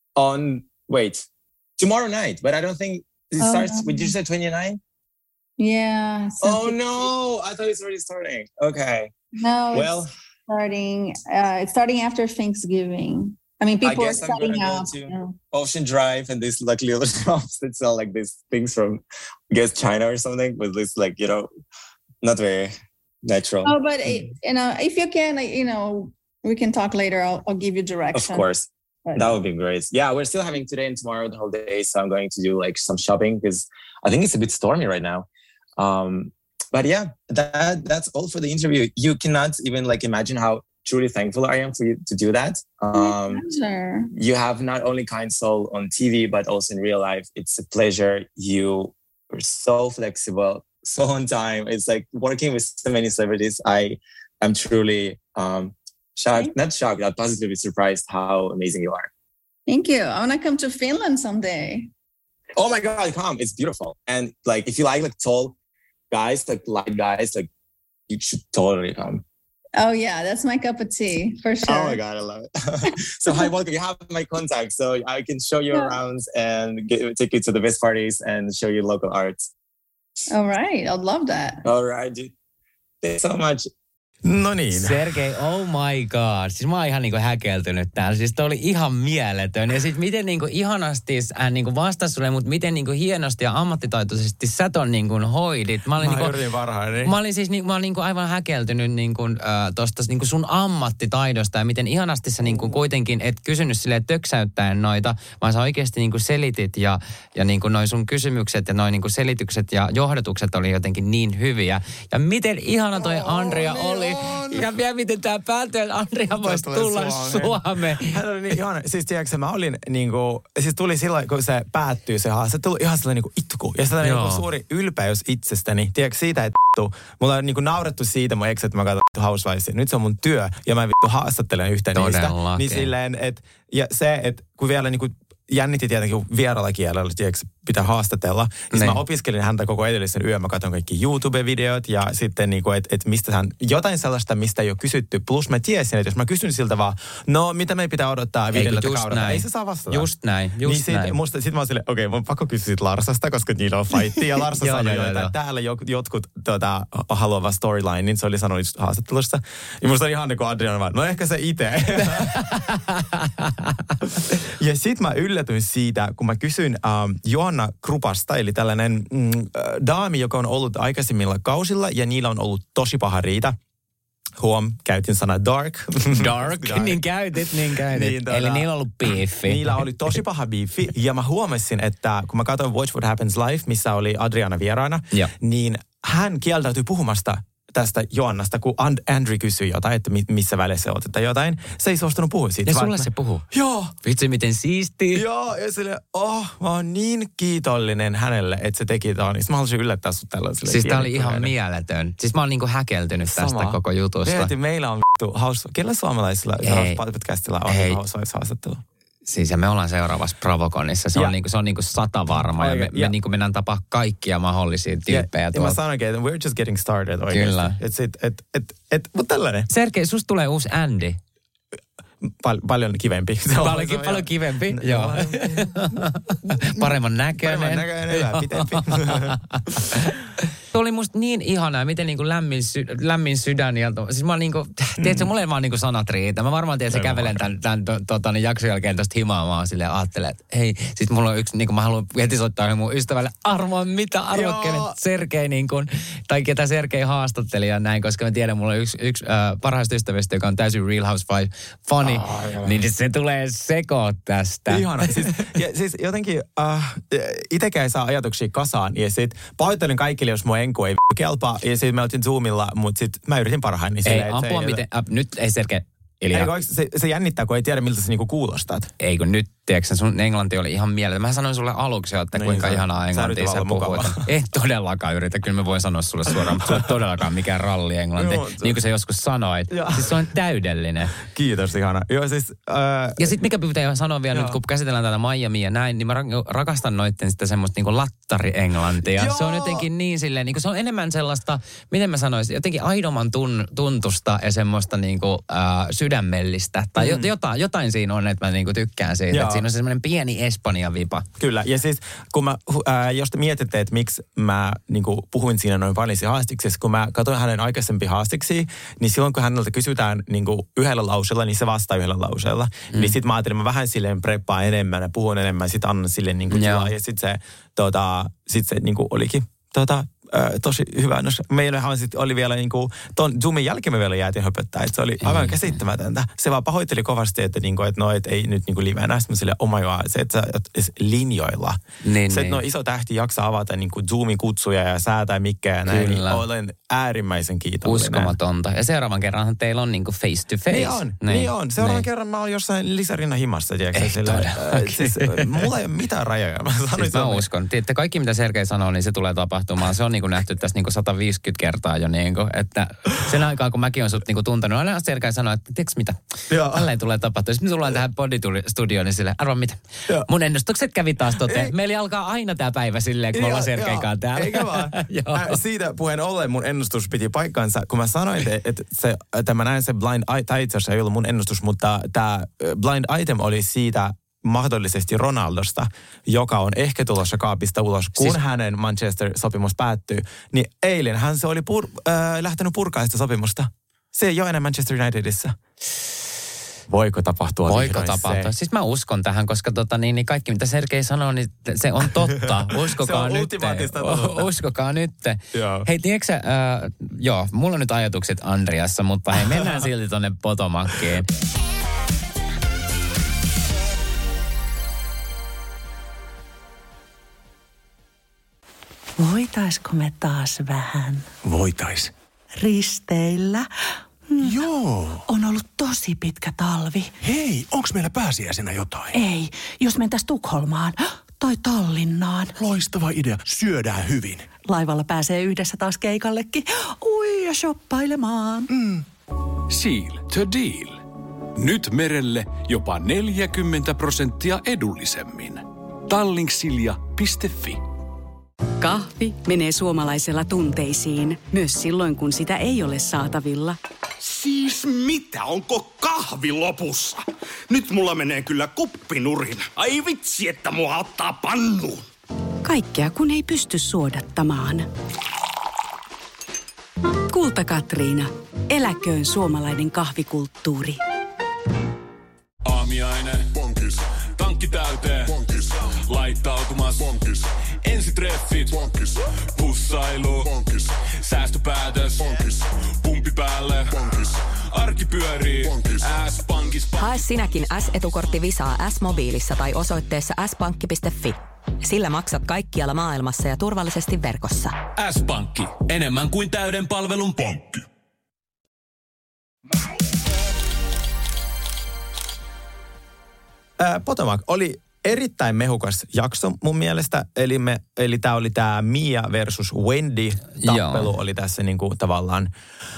S2: tomorrow night, but I don't think it starts. Did you say 29?
S7: Yeah.
S2: Oh no! I thought it's already starting. Okay.
S7: No. Well, it's starting after Thanksgiving. I mean, people are starting out.
S2: To Ocean Drive and these like little shops that sell like these things from, I guess, China or something, with this like not very natural.
S7: Oh, but if you can, we can talk later. I'll give you direction.
S2: Of course. That would be great. Yeah, we're still having today and tomorrow the whole day. So I'm going to do like some shopping because I think it's a bit stormy right now. But yeah, that's all for the interview. You cannot even like imagine how truly thankful I am for you to do that.
S7: Sure.
S2: You have not only kind soul on TV, but also in real life. It's a pleasure. You are so flexible, so on time. It's like working with so many celebrities. I am truly... not shocked, I'm positively surprised how amazing you are.
S7: Thank you. I want to come to Finland someday.
S2: Oh my God, come. It's beautiful. And like, if you like tall guys, like light guys, like you should totally come.
S7: Oh yeah, that's my cup of tea for sure.
S2: Oh my God, I love it. So hi, welcome. You have my contact, so I can show you around and take you to the best parties and show you local arts.
S7: All right, I'd love that.
S2: All right, dude. Thanks so much.
S5: No niin.
S6: Sergei, oh my god. Siis mä oon ihan niinku häkeltynyt täällä. Siis toi oli ihan mieletön. Ja sit miten niinku ihanasti hän niinku vastasi sulle, mutta miten niinku hienosti ja ammattitaitoisesti sä ton niinku hoidit. Mä
S5: yritin parhaani.
S6: Mä olin siis mä olin niinku aivan häkeltynyt niinku, tosta niinku sun ammattitaidosta ja miten ihanasti sä niinku kuitenkin et kysynyt silleen töksäyttäen noita, vaan sä oikeasti niinku selitit ja niinku noi sun kysymykset ja noi niinku selitykset ja johdatukset oli jotenkin niin hyviä. Ja miten ihana toi Andrea oli. Ja vielä miten tää päätyi, että Andrea voisi tulla Suomeen.
S5: Hän oli niin ihana. Siis tiedätkö, mä olin niinku, siis tuli silloin, kun se päättyy se haastattelu, ihan sellainen niinku itku. Ja sellainen niinku suuri ylpeys itsestäni. Tiedätkö, siitä, että mulla on niinku naurettu siitä mun ex, että mä katson Housewivesia. Nyt se on mun työ ja mä haastattelen yhtä niistä. Niin silleen, että ja se, että kun vielä niinku jännitti tietenkin vieraalla kielellä, tiedätkö, pitää haastatella. Niin mä opiskelin häntä koko edellisen yön. Mä katson kaikki YouTube-videot ja sitten niinku, että mistä hän, jotain sellaista, mistä ei ole kysytty. Plus mä tiesin, että jos mä kysyn siltä vaan, no mitä meidän pitää odottaa videolla kaudella, ei se saa vastata.
S6: Just näin.
S5: Sitten mä oon silleen, okei, mä oon pakko kysyä siitä Larsasta, koska niillä on fightti. Ja Larsa sanoi, että täällä jotkut haluava storyline, niin se oli sanonut haastattelussa. Ja musta oli ihan niin kuin Adriana vaan, no ehkä se itse. Ja sit mä yllätyin siitä, kun mä kysyin Johanna Krupasta, eli tällainen daami, joka on ollut aikaisemmilla kausilla, ja niillä on ollut tosi paha riita. Käytin sana dark.
S6: Dark, niin käytit. Niin, eli niillä on ollut beefi.
S5: Niillä oli tosi paha beefi, ja mä huomasin, että kun mä katsoin Watch What Happens Live, missä oli Adriana vieraana, niin hän kieltäytyi puhumasta tästä Joannasta, kun Andrew kysyi jotain, että missä välissä olet, että jotain. Se ei suostunut puhua siitä.
S6: Ja sulle se puhuu?
S5: Joo.
S6: Vitsi, miten siistiä.
S5: Joo, ja silleen, mä oon niin kiitollinen hänelle, että se teki tämän. Mä haluaisin yllättää sut tällaiselle.
S6: Siis tää oli ihan mieletön. Siis mä oon niinku häkeltynyt tästä koko jutusta.
S5: Mietin, meillä on kellä suomalaisilla podcastilla on Housewives-haastattelu?
S6: Siis ja me ollaan seuraavassa Bravoconissa. Se on niinku 100 varma. Ja me niinku mennään tapaa kaikkia mahdollisia tyyppejä.
S5: Ja mä sanoinkin, että we're just getting started oikeasti.
S6: Kyllä.
S5: Mutta tällainen.
S6: Sergei, susta tulee uusi Andy.
S5: Paljon kivempi.
S6: Paljon kivempi, joo. Paremman näköinen.
S5: Pitempi.
S6: Tuo oli musta niin ihanaa, miten niinku lämmin sydän. Ja siis mä oon niinku, tiedätkö, mulle vaan niinku sanat riitä. Mä varmaan tiedän, että kävelen tämän jakson jälkeen tosta himaa. Mä oon silleen ajattelen, että hei, sit mulla on yksi, niinku mä haluan heti soittaa mun ystävälle, arvoa kenet Sergei niinku, tai ketä Sergei haastatteli ja näin, koska mä tiedän, mulla on yksi parhaista ystävistä, joka on täysin Real Housewives funny, niin se tulee sekoot tästä.
S5: Ihana. Siis jotenkin itekään ei saa ajatuksia kasaan, ja sit pahoittelen kaikille, jos mun enku ei kelpaa, ja sitten me oltiin Zoomilla, mutta sitten mä yritin parhaani.
S6: Ei, apua miten, nyt ei Sergei.
S5: Se jännittää, kun ei tiedä, miltä sä niinku kuulostat.
S6: Ei, kun nyt, tiedätkö, sun englanti oli ihan mieletön. Mä sanoin sulle aluksi, että kuinka ihanaa englantia sä puhuit. Ei todellakaan yritä. Kyllä mä voin sanoa sulle suoraan, mutta sulle todellakaan mikään ralli englanti. Niin kuin sä joskus sanoit. Siis se on täydellinen.
S5: Kiitos, ihana. Joo, siis,
S6: ja sit mikä pitää sanoa vielä nyt, kun käsitellään tätä Miamia ja näin, niin mä rakastan noitten sitä semmoista niinku lattari-englantia. Se on jotenkin niin silleen, niinku se on enemmän sellaista, miten mä sanoisin, jotenkin aidoman tuntusta ja semmoista niinku sydämellistä. Tai jotain siinä on, että mä niinku tykkään siitä. Että siinä on semmoinen pieni Espanja-vipa.
S5: Kyllä. Ja siis kun mä, jos te mietitte, että miksi mä niinku puhuin siinä noin paljon haastiksessa, kun mä katsoin hänen aikaisempia haastiksi, niin silloin kun häneltä kysytään niinku yhdellä lauseella, niin se vastaa yhdellä lauseella. Niin sit mä ajattelin, mä vähän silleen preppaan enemmän ja puhun enemmän, sit annan silleen niinku tilaa. Ja sit se niinku olikin tosi hyvä. No, meillähän sitten oli vielä niinku, ton Zoomin jälkeen me vielä jäätiin höpöttää, että se oli aivan käsittämätöntä. Se vaan pahoitteli kovasti, että niinku, et ei nyt niinku livenä. Sitten mä silleen, oh my god, se, että sä linjoilla. Se, että iso tähti jaksaa avata niinku Zoomin kutsuja ja säätää mikkejä ja näin, niin olen äärimmäisen kiitollinen.
S6: Uskomatonta. Ja seuraavan kerranhan teillä on niinku face to face.
S5: Niin on. Seuraavan kerran mä oon jossain lisärinnan himassa, tiedätkö? Siis mulla ei ole mitään rajoja.
S6: Mä uskon. Tiedätte, kaikki mitä Sergei sanoo, niin se tulee tapahtumaan. Se on niinku niinku nähty tässä niinku 150 kertaa jo niinku, että sen aikaa kun mäkin olen sut niinku tuntenut, aina Sergei sanoo, että tiedätkö mitä, tälleen tulee tapahtua. Sitten me tullaan tähän Bodytuli-studioon, niin silleen, arvaa mitä, mun ennustukset kävi taas toteen. Meillä alkaa aina tää päivä silleen, kun me ollaan Sergein kanssa täällä.
S5: Eikä vaan. Siitä puheen ollen mun ennustus piti paikkansa, kun mä sanoin, että mä näin se blind item, tai itse asiassa ei ollut mun ennustus, mutta tämä blind item oli siitä mahdollisesti Ronaldosta, joka on ehkä tulossa kaapista ulos, kun hänen Manchester-sopimus päättyy. Niin eilen hän se oli lähtenyt purkaa sitä sopimusta. Se ei ole enää Manchester Unitedissa. Voiko tapahtua?
S6: Voiko tapahtua? Siis mä uskon tähän, koska niin kaikki mitä Sergei sanoo, niin se on totta. Uskokaa nyt. Uskokaa nyt. Hei, tiedätkö mulla on nyt ajatukset Andriassa, mutta hei, mennään silti tonne Potomackiin.
S8: Voitaisko me taas vähän?
S9: Voitais.
S8: Risteillä?
S9: Joo.
S8: On ollut tosi pitkä talvi.
S9: Hei, onks meillä pääsiäisenä jotain?
S8: Ei, jos mentäis Tukholmaan tai Tallinnaan.
S9: Loistava idea. Syödään hyvin.
S8: Laivalla pääsee yhdessä taas keikallekin. Ui, ja shoppailemaan.
S1: Seal to deal. Nyt merelle jopa 40% edullisemmin. Tallingsilja.fi.
S10: Kahvi menee suomalaisella tunteisiin, myös silloin kun sitä ei ole saatavilla.
S11: Siis mitä? Onko kahvi lopussa? Nyt mulla menee kyllä kuppinurin. Ai vitsi, että mua ottaa pannuun.
S10: Kaikkea kun ei pysty suodattamaan. Kulta Katriina. Eläköön suomalainen kahvikulttuuri.
S1: Aamiainen. Bonkis. Tankki täyteen. Bonkis. Laittautumas. Bonkis. Ensitreffit. Bonkis. Pussailu. Bonkis. Säästöpäätös. Bonkis. Pumpi päälle. Bonkis. Arki pyörii. S-pankis.
S3: Hae sinäkin S-etukortti Visaa S-mobiilissa tai osoitteessa s-pankki.fi. Sillä maksat kaikkialla maailmassa ja turvallisesti verkossa.
S1: S-pankki. Enemmän kuin täyden palvelun pankki.
S5: Potomac oli erittäin mehukas jakso mun mielestä. Eli tämä oli tämä Mia versus Wendy tappelu oli tässä niinku tavallaan,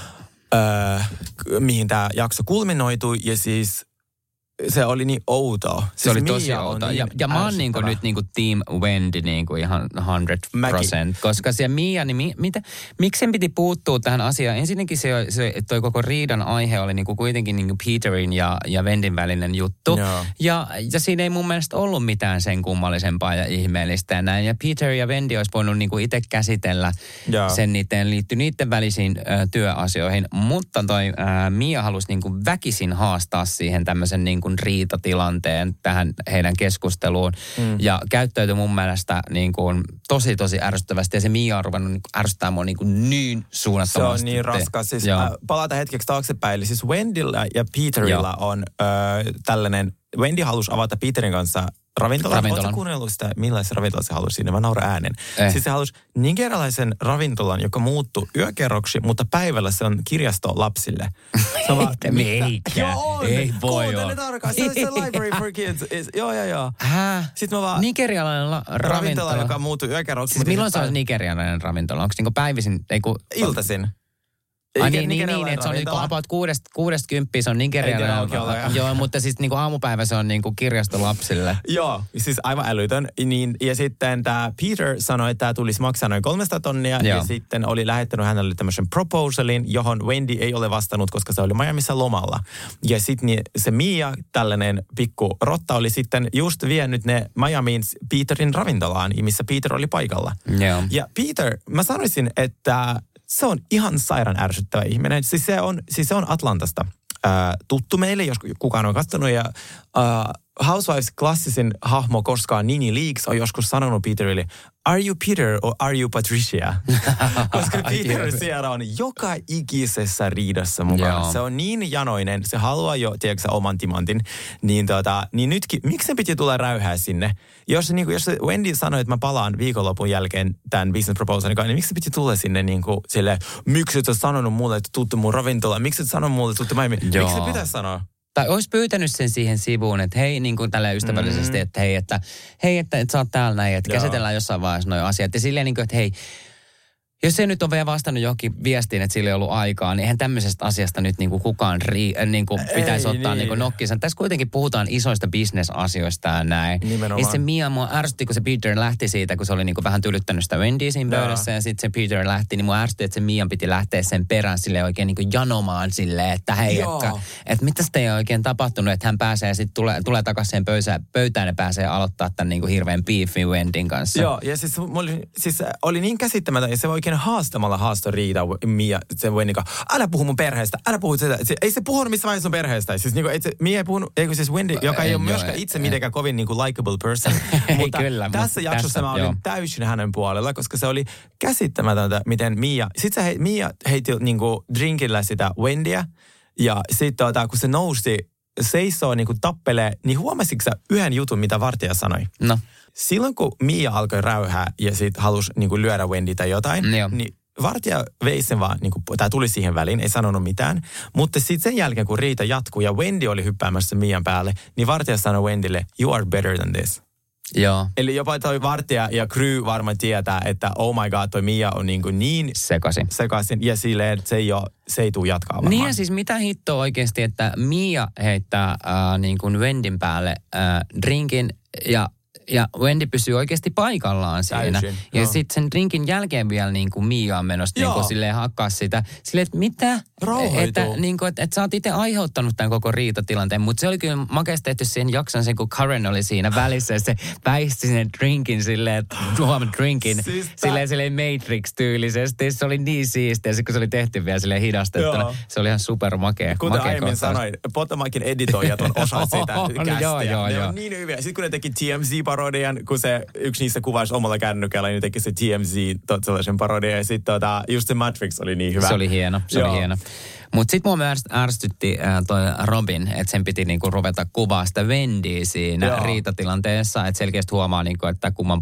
S5: mihin tämä jakso kulminoitui. Ja siis se oli niin outoa.
S6: Se oli tosi outoa. Ja mä oon nyt Team Wendy ihan 100%. Koska se Mia, niin miksi sen piti puuttua tähän asiaan? Ensinnäkin toi koko riidan aihe oli kuitenkin Peterin ja Wendyn välinen juttu. Ja siinä ei mun mielestä ollut mitään sen kummallisempaa ja ihmeellistä ja näin. Ja Peter ja Wendy olisi voinut itse käsitellä sen niiden välisiin työasioihin. Mutta toi Mia halusi väkisin haastaa siihen tämmöisen riitatilanteen tähän heidän keskusteluun. Ja käyttäytyi mun mielestä tosi ärsyttävästi. Ja se Mia on ruvennut ärsyttää mua niin suunnattomasti.
S5: Se on niin raskas. Siis palata hetkeksi taaksepäin. Eli siis Wendyllä ja Peterillä on tällainen, Wendy halusi avata Peterin kanssa ravintolan. Oletko kuunnellut sitä, millaisen ravintolan se halusi siinä? Mä nauran äänen. Siis se halusi nigerialaisen ravintolan, joka muuttui yökerroksi, mutta päivällä se on kirjasto lapsille. Se on
S6: ei voi olla.
S5: Se on se library for kids. Joo. Sitten mä vaan
S6: nigerialainen ravintola,
S5: joka muuttui yökerroksi.
S6: Siis milloin se on nigerialainen ravintola? Onko päivisin?
S5: Iltaisin.
S6: Niin, että se on about 6-10 se on nigerialainen. Joo, mutta siis aamupäivä se on kirjasto lapsille.
S5: Joo, siis aivan älytön. Niin, ja sitten tämä Peter sanoi, että tämä tulisi maksaa noin 300 tonnia. Ja sitten oli lähettänyt hänelle tämmöisen proposalin, johon Wendy ei ole vastannut, koska se oli Miamiissa lomalla. Ja sitten se Mia, tällainen pikku rotta, oli sitten just vienyt ne Miamiin Peterin ravintolaan, missä Peter oli paikalla. Ja Peter, mä sanoisin, että se on ihan sairaan ärsyttävä ihminen. Siis se on Atlantasta tuttu meille, jos kukaan on katsonut. Ja Housewives klassisin hahmo koskaan Nini Leakes on joskus sanonut Peterille, are you Peter or are you Patricia? Koska Peter siellä on joka ikisessä riidassa mukana. Se on niin janoinen, se haluaa jo, tiedätkö oman timantin. Niin nytkin, miksi se piti tulla räyhää sinne? Jos Wendy sanoi, että mä palaan viikonlopun jälkeen tämän business proposalin kanssa, niin miksi se piti tulla sinne silleen, miksi et ole sanonut mulle, että tuutte mun ravintolaan? Miksi et sanonut mulle, että tuutte Miamiin? Miksi se pitäisi sanoa?
S6: Tai olisi pyytänyt sen siihen sivuun, että hei, tällä ystävällisesti, että hei, että sä oot täällä näin, että käsitellään jossain vaiheessa nuo asiat. Ja silleen että hei, Jos se nyt on vielä vastannut johonkin viestiin, että sillä ei ollut aikaa, niin eihän tämmöisestä asiasta nyt niinku kukaan pitäisi ottaa niinku nokkinsa. Tässä kuitenkin puhutaan isoista bisnesasioista ja näin.
S5: Nimenomaan.
S6: Ja se Mia mua ärsytti, kun se Peter lähti siitä, kun se oli niinku vähän tylyttänyt sitä Wendyä siinä pöydässä. Ja sitten se Peter lähti, niin mua ärsytti, että se Mian piti lähteä sen perään silleen oikein niinku janomaan silleen, että hei, että mitä sitä ei oikein tapahtunut, että hän pääsee sitten tulee takaisin sen pöytään ja pääsee aloittaa tämän niinku hirveän beefin Wendyn kanssa.
S5: Joo, ja siis oli niin käsittämätön, ja se oikein haastamalla haastoi Riita Mia sen Wendyn kanssa. Älä puhu mun perheestä, älä puhu sitä. Ei se puhunut missä vaiheessa sun perheestä. Siis niinku, Mia ei puhunut, siis Wendy, joka ei ole myöskään itse mitenkään kovin niinku likable person. Mutta
S6: kyllä,
S5: tässä jaksossa mä olin täysin hänen puolella, koska se oli käsittämätöntä, miten Mia heitti niinku drinkillä sitä Wendyä, ja sitten kun se nousi seisoo niinku tappelee, niin huomasitko sä yhden jutun, mitä vartija sanoi?
S6: No.
S5: Silloin kun Mia alkoi räyhää ja sit halusi niinku lyödä Wendy tai jotain, niin vartija vei sen vaan, niinku, tai tuli siihen väliin, ei sanonut mitään. Mutta sitten sen jälkeen, kun riita jatkuu ja Wendy oli hyppäämässä Mian päälle, niin vartija sanoi Wendylle, you are better than this.
S6: Joo.
S5: Eli jopa toi vartija ja crew varmaan tietää, että oh my god, toi Mia on niin sekaisin ja silleen, että se ei tule jatkaa varmaan.
S6: Niin ja siis mitä hittoa oikeasti, että Mia heittää niin kuin Wendyn päälle drinkin ja Wendy pysyy oikeasti paikallaan siinä.
S5: Täysin,
S6: ja sitten sen drinkin jälkeen vielä niin kuin Mia on menossa niin kuin silleen hakkaa sitä. Silleen, että mitä? Että sä oot itse aiheuttanut tämän koko riitatilanteen. Mutta se oli kyllä makeasti tehty siihen jakson sen, kun Karen oli siinä välissä. Ja se väisti sen drinkin silleen, drinkin silleen Matrix-tyylisesti. Se oli niin siistiä. Sitten kun se oli tehty vielä silleen hidastettuna. Joo. Se oli ihan supermakea.
S5: Kuten aiemmin sanoin, Potomakin editoijat on osa sitä kästiä.
S6: Joo.
S5: Ne on niin hyviä. Sitten kun ne teki TMZ-parodian, kun se yksi niistä kuvasi omalla kännykällä, niin teki se TMZ sellaisen parodian. Ja sitten just se Matrix oli niin hyvä.
S6: Se oli hieno. Mutta sitten mua ärsytti toi Robin, että sen piti niinku ruveta kuvaa sitä Wendyä siinä riitatilanteessa. Että selkeästi huomaa, niinku, että kumman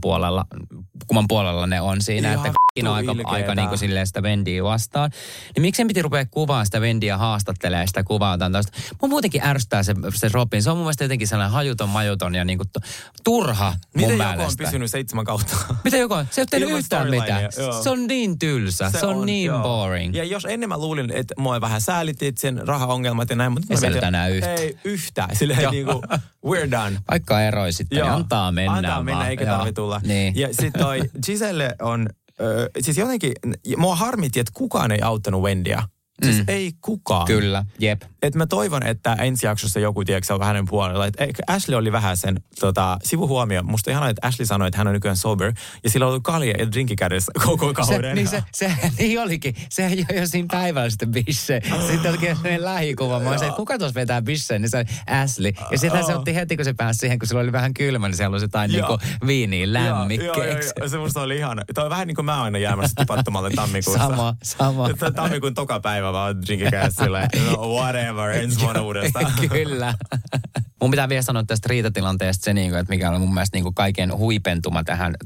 S6: puolella ne on siinä. Ihan että on aika niinku silleen sitä Wendyä vastaan. Niin miksi sen piti rupea kuvaa sitä Wendyä haastattelee sitä kuvaa? Mua muutenkin ärsyttää se Robin. Se on mun mielestä jotenkin sellainen majuton ja niinku turha mun mielestä.
S5: Miten joku on pysynyt 7 kautta?
S6: Mitä joku on? Se ei ole tehnyt yhtään mitään. Se on niin tylsä. Se on niin boring.
S5: Ja jos ennen mä luulin, että mua vähän säälittiin sen rahaongelmat ja näin, mutta
S6: ei sieltä enää yhtään.
S5: Ei yhtään. Silleen niinku, we're done.
S6: Vaikka eroi sitten, niin antaa mennä.
S5: Antaa mennä, eikä tarvitse tulla.
S6: Niin.
S5: Ja sitten toi Giselle on, siis jotenkin, mua harmitti, että kukaan ei auttanut Wendyä. Siis ei kukaan.
S6: Kyllä, jep.
S5: Että mä toivon, että ensi jaksossa joku, tiedätkö, on hänen puolella. Että Ashley oli vähän sen sivuhuomio. Musta ihanaa, että Ashley sanoi, että hän on nykyään sober. Ja sillä on ollut kalja ja drinki kädessä koko kauden.
S6: Se niin olikin. Se joi jo siinä päivällä sitten bisse. Sitten olikin sellainen lähikuva. Mä olisin, että kuka tuossa vetää bisseen? Niin se oli Ashley. Ja sitten se otti heti, kun se pääsi siihen, kun sillä oli vähän kylmä, niin se halusi jotain niinku viiniä lämmikkeeksi.
S5: Joo. Se musta oli ihana. Toi on vähän niin kuin mä aina jäämässä tipattomalle tammikuussa.
S6: Sama.
S5: Tammikuun toka päivä vaan drinki kädessä silleen, whatever, ensi vuonna uudestaan.
S6: Kyllä. Mun pitää vielä sanoa tästä riitatilanteesta se, että mikä oli mun mielestä kaiken huipentuma tämän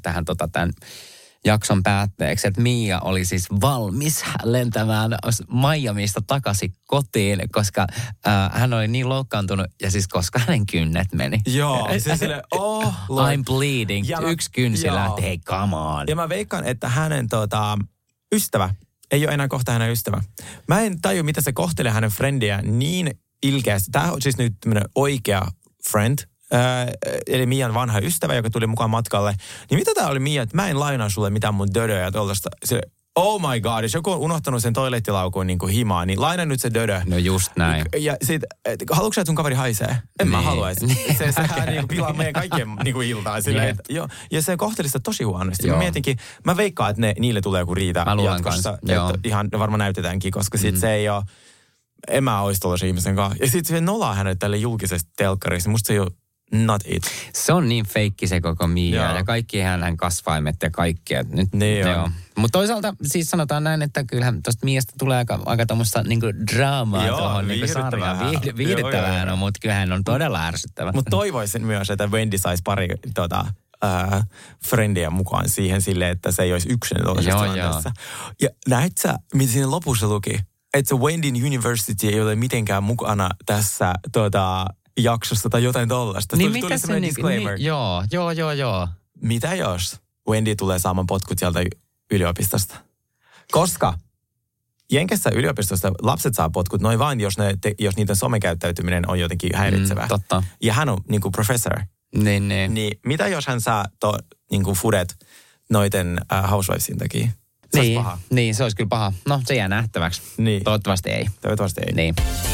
S6: jakson päätteeksi, että Mia oli siis valmis lentämään Miamista takaisin kotiin, koska hän oli niin loukkaantunut ja siis koska hänen kynnet meni.
S5: Joo, se sille,
S6: I'm bleeding. Yksi kynsi lähti, hei come on.
S5: Ja mä veikkaan, että hänen ystävä ei ole enää kohta hänen ystävä. Mä en taju, mitä se kohtelee hänen friendiä niin ilkeästi. Tämä on siis nyt tämmöinen oikea friend, eli Mian vanha ystävä, joka tuli mukaan matkalle. Niin mitä tää oli Mia, että mä en lainaa sulle mitään mun dödöä ja tuollaista. Oh my god, jos joku on unohtanut sen toilettilaukuun niin kuin himaan, niin laina nyt se dödö.
S6: No just näin.
S5: Ja sit, haluatko sä, että sun kaveri haisee? En mä haluaisi. Sehän niin pilaa meidän kaikkien niin kuin iltaa. Silleen, ja se kohteli sitä tosi huonosti. Mä mietinkin, mä veikkaan, että niille tulee joku riita jatkossa. Ihan varmaan näytetäänkin, koska sit se ei ole, en mä olisi tollaisen ihmisen kanssa. Ja sit se nolaa hänet tälle julkisesti telkkarissa. Musta se ei ole not it.
S6: Se on niin feikki se koko Mia ja kaikki hänen kasvaimet ja kaikki. Mutta toisaalta siis sanotaan näin, että kyllähän tuosta Miasta tulee aika tuommoista niinku draamaa tuohon niinku sarjaan. Viihdyttävää, mutta kyllähän on todella ärsyttävä.
S5: Mutta toivoisin myös, että Wendy saisi pari friendiä mukaan siihen silleen, että se ei olisi yksin tuollaisessa tilanteessa. Ja näet sä, mitä siinä lopussa luki? Että se Wendyn University ei ole mitenkään mukana tässä jaksossa tai jotain tollaista.
S6: Niin mitä se disclaimer. Joo.
S5: Mitä jos Wendy tulee saamaan potkut sieltä yliopistosta? Koska Jenkessä yliopistossa lapset saa potkut noin vain, jos niiden somekäyttäytyminen on jotenkin häiritsevää.
S6: Totta.
S5: Ja hän on niin kuin professor. Niin mitä jos hän saa niin kuin fudet noiden housewivesin takia? Se olisi paha.
S6: Niin, se olisi kyllä paha. No, se jää nähtäväksi.
S5: Niin.
S6: Toivottavasti ei.
S5: Niin.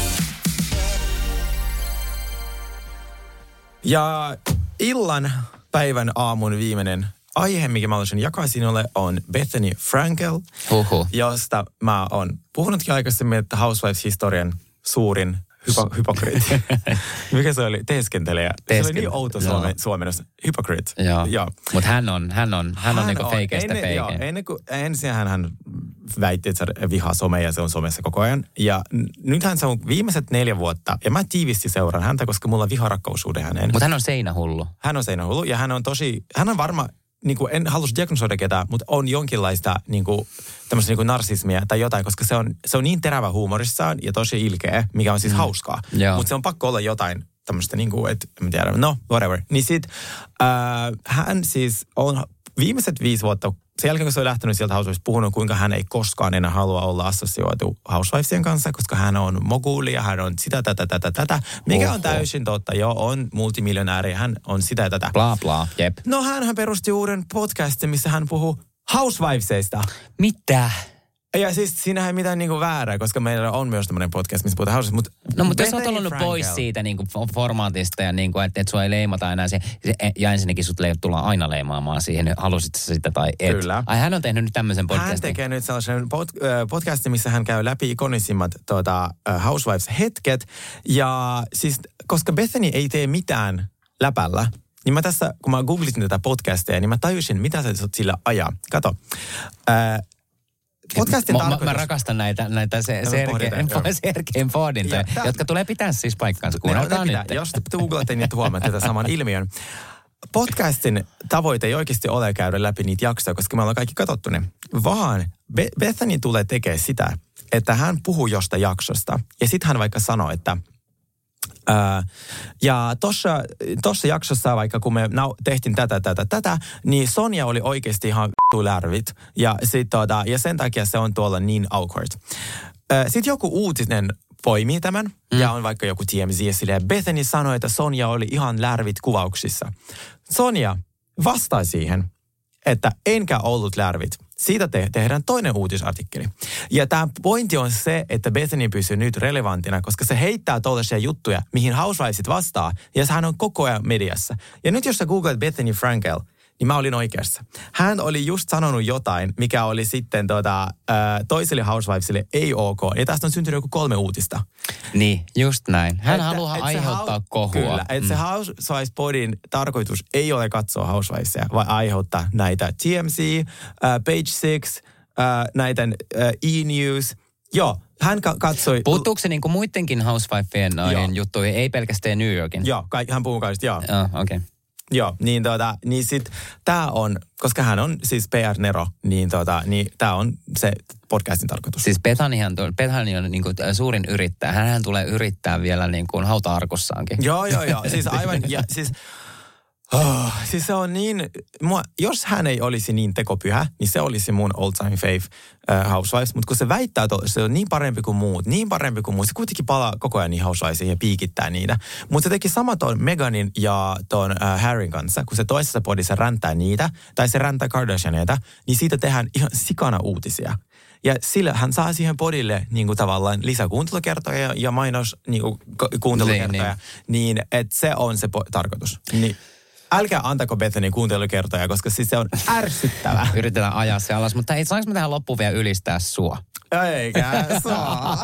S5: Ja illan, päivän, aamun viimeinen aihe, mikä mä haluaisin jakaa sinulle, on Bethany Frankel, josta mä oon puhunutkin aikaisemmin, että Housewives-historian suurin hypokriitti. Mikä se oli? Teeskentelijä. Se oli niin outo suomennos. Hypocrite.
S6: Joo. Mutta hän on niinku feikeistä feike.
S5: Ensin hän väitti, että se vihaa somea ja se on somessa koko ajan. Ja nythän se on viimeiset 4 vuotta. Ja mä tiivisti seuraan häntä, koska mulla on viharakkaussuhde häneen.
S6: Mutta hän on seinähullu.
S5: Ja hän on varma, niin kuin en halus diagnosoida ketään, mutta on jonkinlaista niin kuin, tämmöistä niin kuin narsismia tai jotain, koska se on niin terävä huumorissaan ja tosi ilkeä, mikä on siis hauskaa. Mutta se on pakko olla jotain tämmöistä, niin kuin, että en tiedä, whatever. Niin sit hän siis on viimeiset 5 vuotta, sen jälkeen kun se on lähtenyt sieltä Housewivesista, puhunut, kuinka hän ei koskaan enää halua olla assosioitu Housewivesien kanssa, koska hän on moguli ja hän on sitä, tätä, mikä on täysin totta. Joo, on multimiljonääri, hän on sitä ja tätä.
S6: Bla bla, jep.
S5: No hänhän perusti uuden podcastin, missä hän puhuu Housewivesista.
S6: Mitä?
S5: Ja siis siinähän ei mitään niinku väärää, koska meillä on myös tämmöinen podcast, missä puhutaan Housewivesista.
S6: Mutta jos olet ollut pois siitä niinku formaatista ja niinku, että sua ei leimata enää ja ensinnäkin sut tullaan aina leimaamaan siihen, halusit sitä tai et.
S5: Kyllä.
S6: Ai hän on tehnyt nyt tämmöisen podcastin.
S5: Hän tekee nyt sellaisen podcastin, missä hän käy läpi ikonisimmat Housewives-hetket. Ja siis, koska Bethany ei tee mitään läpällä, niin mä tässä, kun mä googlitin tätä podcastia, niin mä tajusin, mitä sä sillä ajaa. Kato. Podcastin
S6: mä rakastan näitä Sergein pohdintoja, jotka tulee pitää siis paikkaansa. Kuunnelkaa nyt.
S5: Jos googlatte, niin huomaatte tätä saman ilmiön. Podcastin tavoite ei oikeasti ole käydä läpi niitä jaksoja, koska me ollaan kaikki katsottu ne. Vaan Bethany tulee tekemään sitä, että hän puhuu jostain jaksosta. Ja sitten hän vaikka sanoo, että ja tossa jaksossa, vaikka kun me tehtiin tätä, niin Sonja oli oikeasti ihan lärvit. Ja sen takia se on tuolla niin awkward. Sitten joku uutinen poimii tämän, ja on vaikka joku TMZ, ja Bethany sanoi, että Sonja oli ihan lärvit kuvauksissa. Sonja vastaa siihen, että enkä ollut lärvit. Siitä tehdään toinen uutisartikkeli. Ja tämä pointti on se, että Bethany pysyy nyt relevanttina, koska se heittää tuollaisia juttuja, mihin Housewivesit vastaa, ja hän on koko ajan mediassa. Ja nyt jos sä googlet Bethany Frankel, niin mä olin oikeassa. Hän oli just sanonut jotain, mikä oli sitten toiselle Housewivesille ei ok. Ja tästä on syntynyt joku 3 uutista.
S6: Niin, just näin. Hän haluaa aiheuttaa kohua.
S5: Kyllä, että se Housewives-podin tarkoitus ei ole katsoa Housewivesia, vaan aiheuttaa näitä TMZ, Page 6, näitä E-News. Joo, hän katsoi...
S6: Puuttuuko se niinku muidenkin Housewivesien juttuihin, ei pelkästään New Yorkin?
S5: Joo, hän puhuu kaikista, joo.
S6: Okei.
S5: Joo, niin sit tää on, koska hän on siis PR-nero, niin tää on se podcastin tarkoitus.
S6: Siis Bethany on niinku suurin yrittäjä. Hänhän tulee yrittää vielä niinku hauta-arkussaankin.
S5: Joo. Siis aivan, ja siis se on niin, jos hän ei olisi niin tekopyhä, niin se olisi mun old time fave Housewives. Mutta kun se väittää, että se on niin parempi kuin muut, se kuitenkin palaa koko ajan niin Housewivesiin ja piikittää niitä. Mutta se teki sama ton Meghanin ja ton Harryn kanssa, kun se toisessa podissa räntää niitä, tai se räntää Kardashianeita, niin siitä tehdään ihan sikana uutisia. Ja sillä hän saa siihen podille niin kuin tavallaan lisäkuuntelukertoja ja mainos niin kuin kuuntelukertoja, niin että se on se tarkoitus. Niin. Älkää antako Bethany kuuntelukertoja, koska siis se on ärsyttävää.
S6: Yritetään ajaa se alas, mutta saanko me tähän loppuun vielä ylistää sua?
S5: Eikä saa.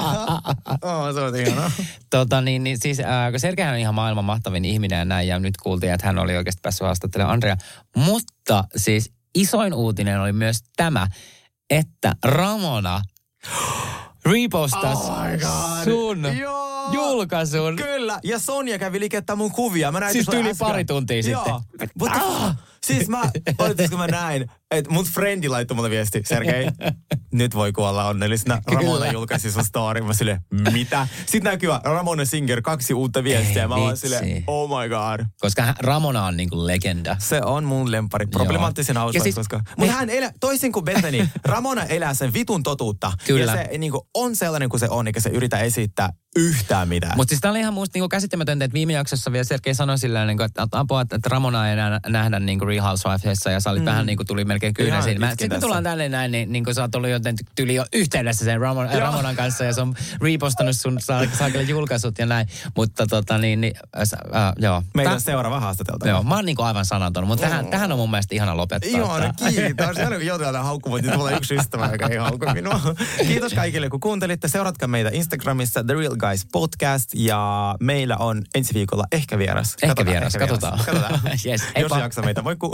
S5: Se on hienoa.
S6: Siis kun Sergeihän on ihan maailman mahtavin ihminen ja näin, ja nyt kuultiin, että hän oli oikeasti päässyt haastattelemaan Andrea. Mutta siis isoin uutinen oli myös tämä, että Ramona repostasi sun julkaisun.
S5: Kyllä, ja Sonja kävi liikettä mun kuvia. Mä näin
S6: siis tyyli pari tuntia sitten.
S5: Siis kun mä näin, että mun friendi laittoi mulle viesti, Sergei, nyt voi kuolla onnellisena. Ramona julkaisi sun story. Mä silleen, mitä? Sitten näkyy Ramona Singer 2 uutta viestiä. Mä vaan silleen, oh my god.
S6: Koska Ramona on niinku legenda.
S5: Se on mun lempari. Problemaattisen hauska, siis, koska... Mutta hän elää, toisin kuin Bethany, Ramona elää sen vitun totuutta. Kyllä. Ja se niinku on sellainen kuin se on, eikä se yritä esittää yhtään mitään.
S6: Mutta siis tää oli ihan musta niinku käsittämätöntä, että viime jaksossa vielä Sergei sanoi silleen, niinku, että apua, että Ramona ei enää nähdä niinku Real Housewivesissa ja sä olit vähän niinku tuli melkein kyynä siinä. Sitten me tullaan tänne näin, niin kun sä oot ollut joten tyli jo yhteydessä sen Ramonan kanssa ja se on repostannut sun saakelle julkaisut ja näin. Mutta joo.
S5: Meidän seuraava haastateltava.
S6: Joo, mä oon niinku aivan sanaton, mutta tähän on mun mielestä ihana lopettaa.
S5: Joo, kiitos. Aina kun joutuu haukkumaan, niin tulee yksi ystävä, joka ei haukku minua. Kiitos kaikille, kun kuuntelitte. Seuratkaa meitä Instagramissa, The Real Guys Podcast, ja meillä on ensi viikolla ehkä vieras.
S6: Katsotaan.
S5: Yes, jos jaksa meitä, voi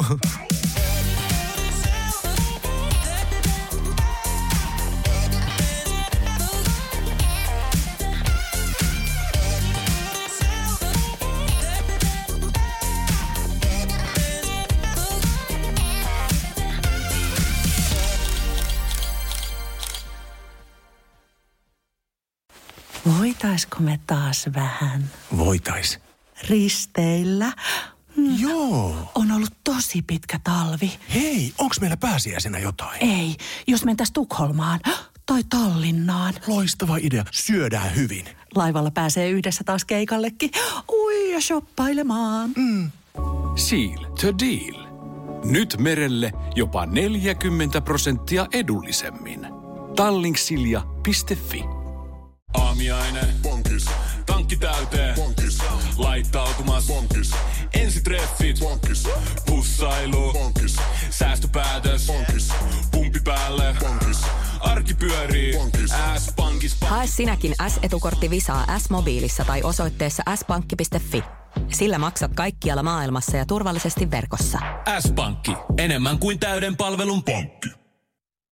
S8: Voitaisko me taas vähän?
S9: Voitais.
S8: Risteillä?
S9: Joo.
S8: On ollut tosi pitkä talvi.
S9: Hei, onks meillä pääsiäisenä jotain?
S8: Ei, jos mentäis Tukholmaan tai Tallinnaan.
S9: Loistava idea. Syödään hyvin.
S8: Laivalla pääsee yhdessä taas keikallekin. Ui, ja shoppailemaan.
S1: Seal to deal. Nyt merelle jopa 40% edullisemmin. Tallingsilja.fi.
S12: Aamiaine. Bonkis. Tankki täyteen. Bonkis. Laittautumas. Bonkis. Ensitreffit. Bonkis. Pussailu. Bonkis. Säästöpäätös. Bonkis. Pumpi päälle. Bonkis. Arki pyörii. Bonkis. S-pankis.
S3: Hae sinäkin S-etukortti Visaa S-mobiilissa tai osoitteessa s-pankki.fi. Sillä maksat kaikkialla maailmassa ja turvallisesti verkossa.
S12: S-pankki. Enemmän kuin täyden palvelun pankki.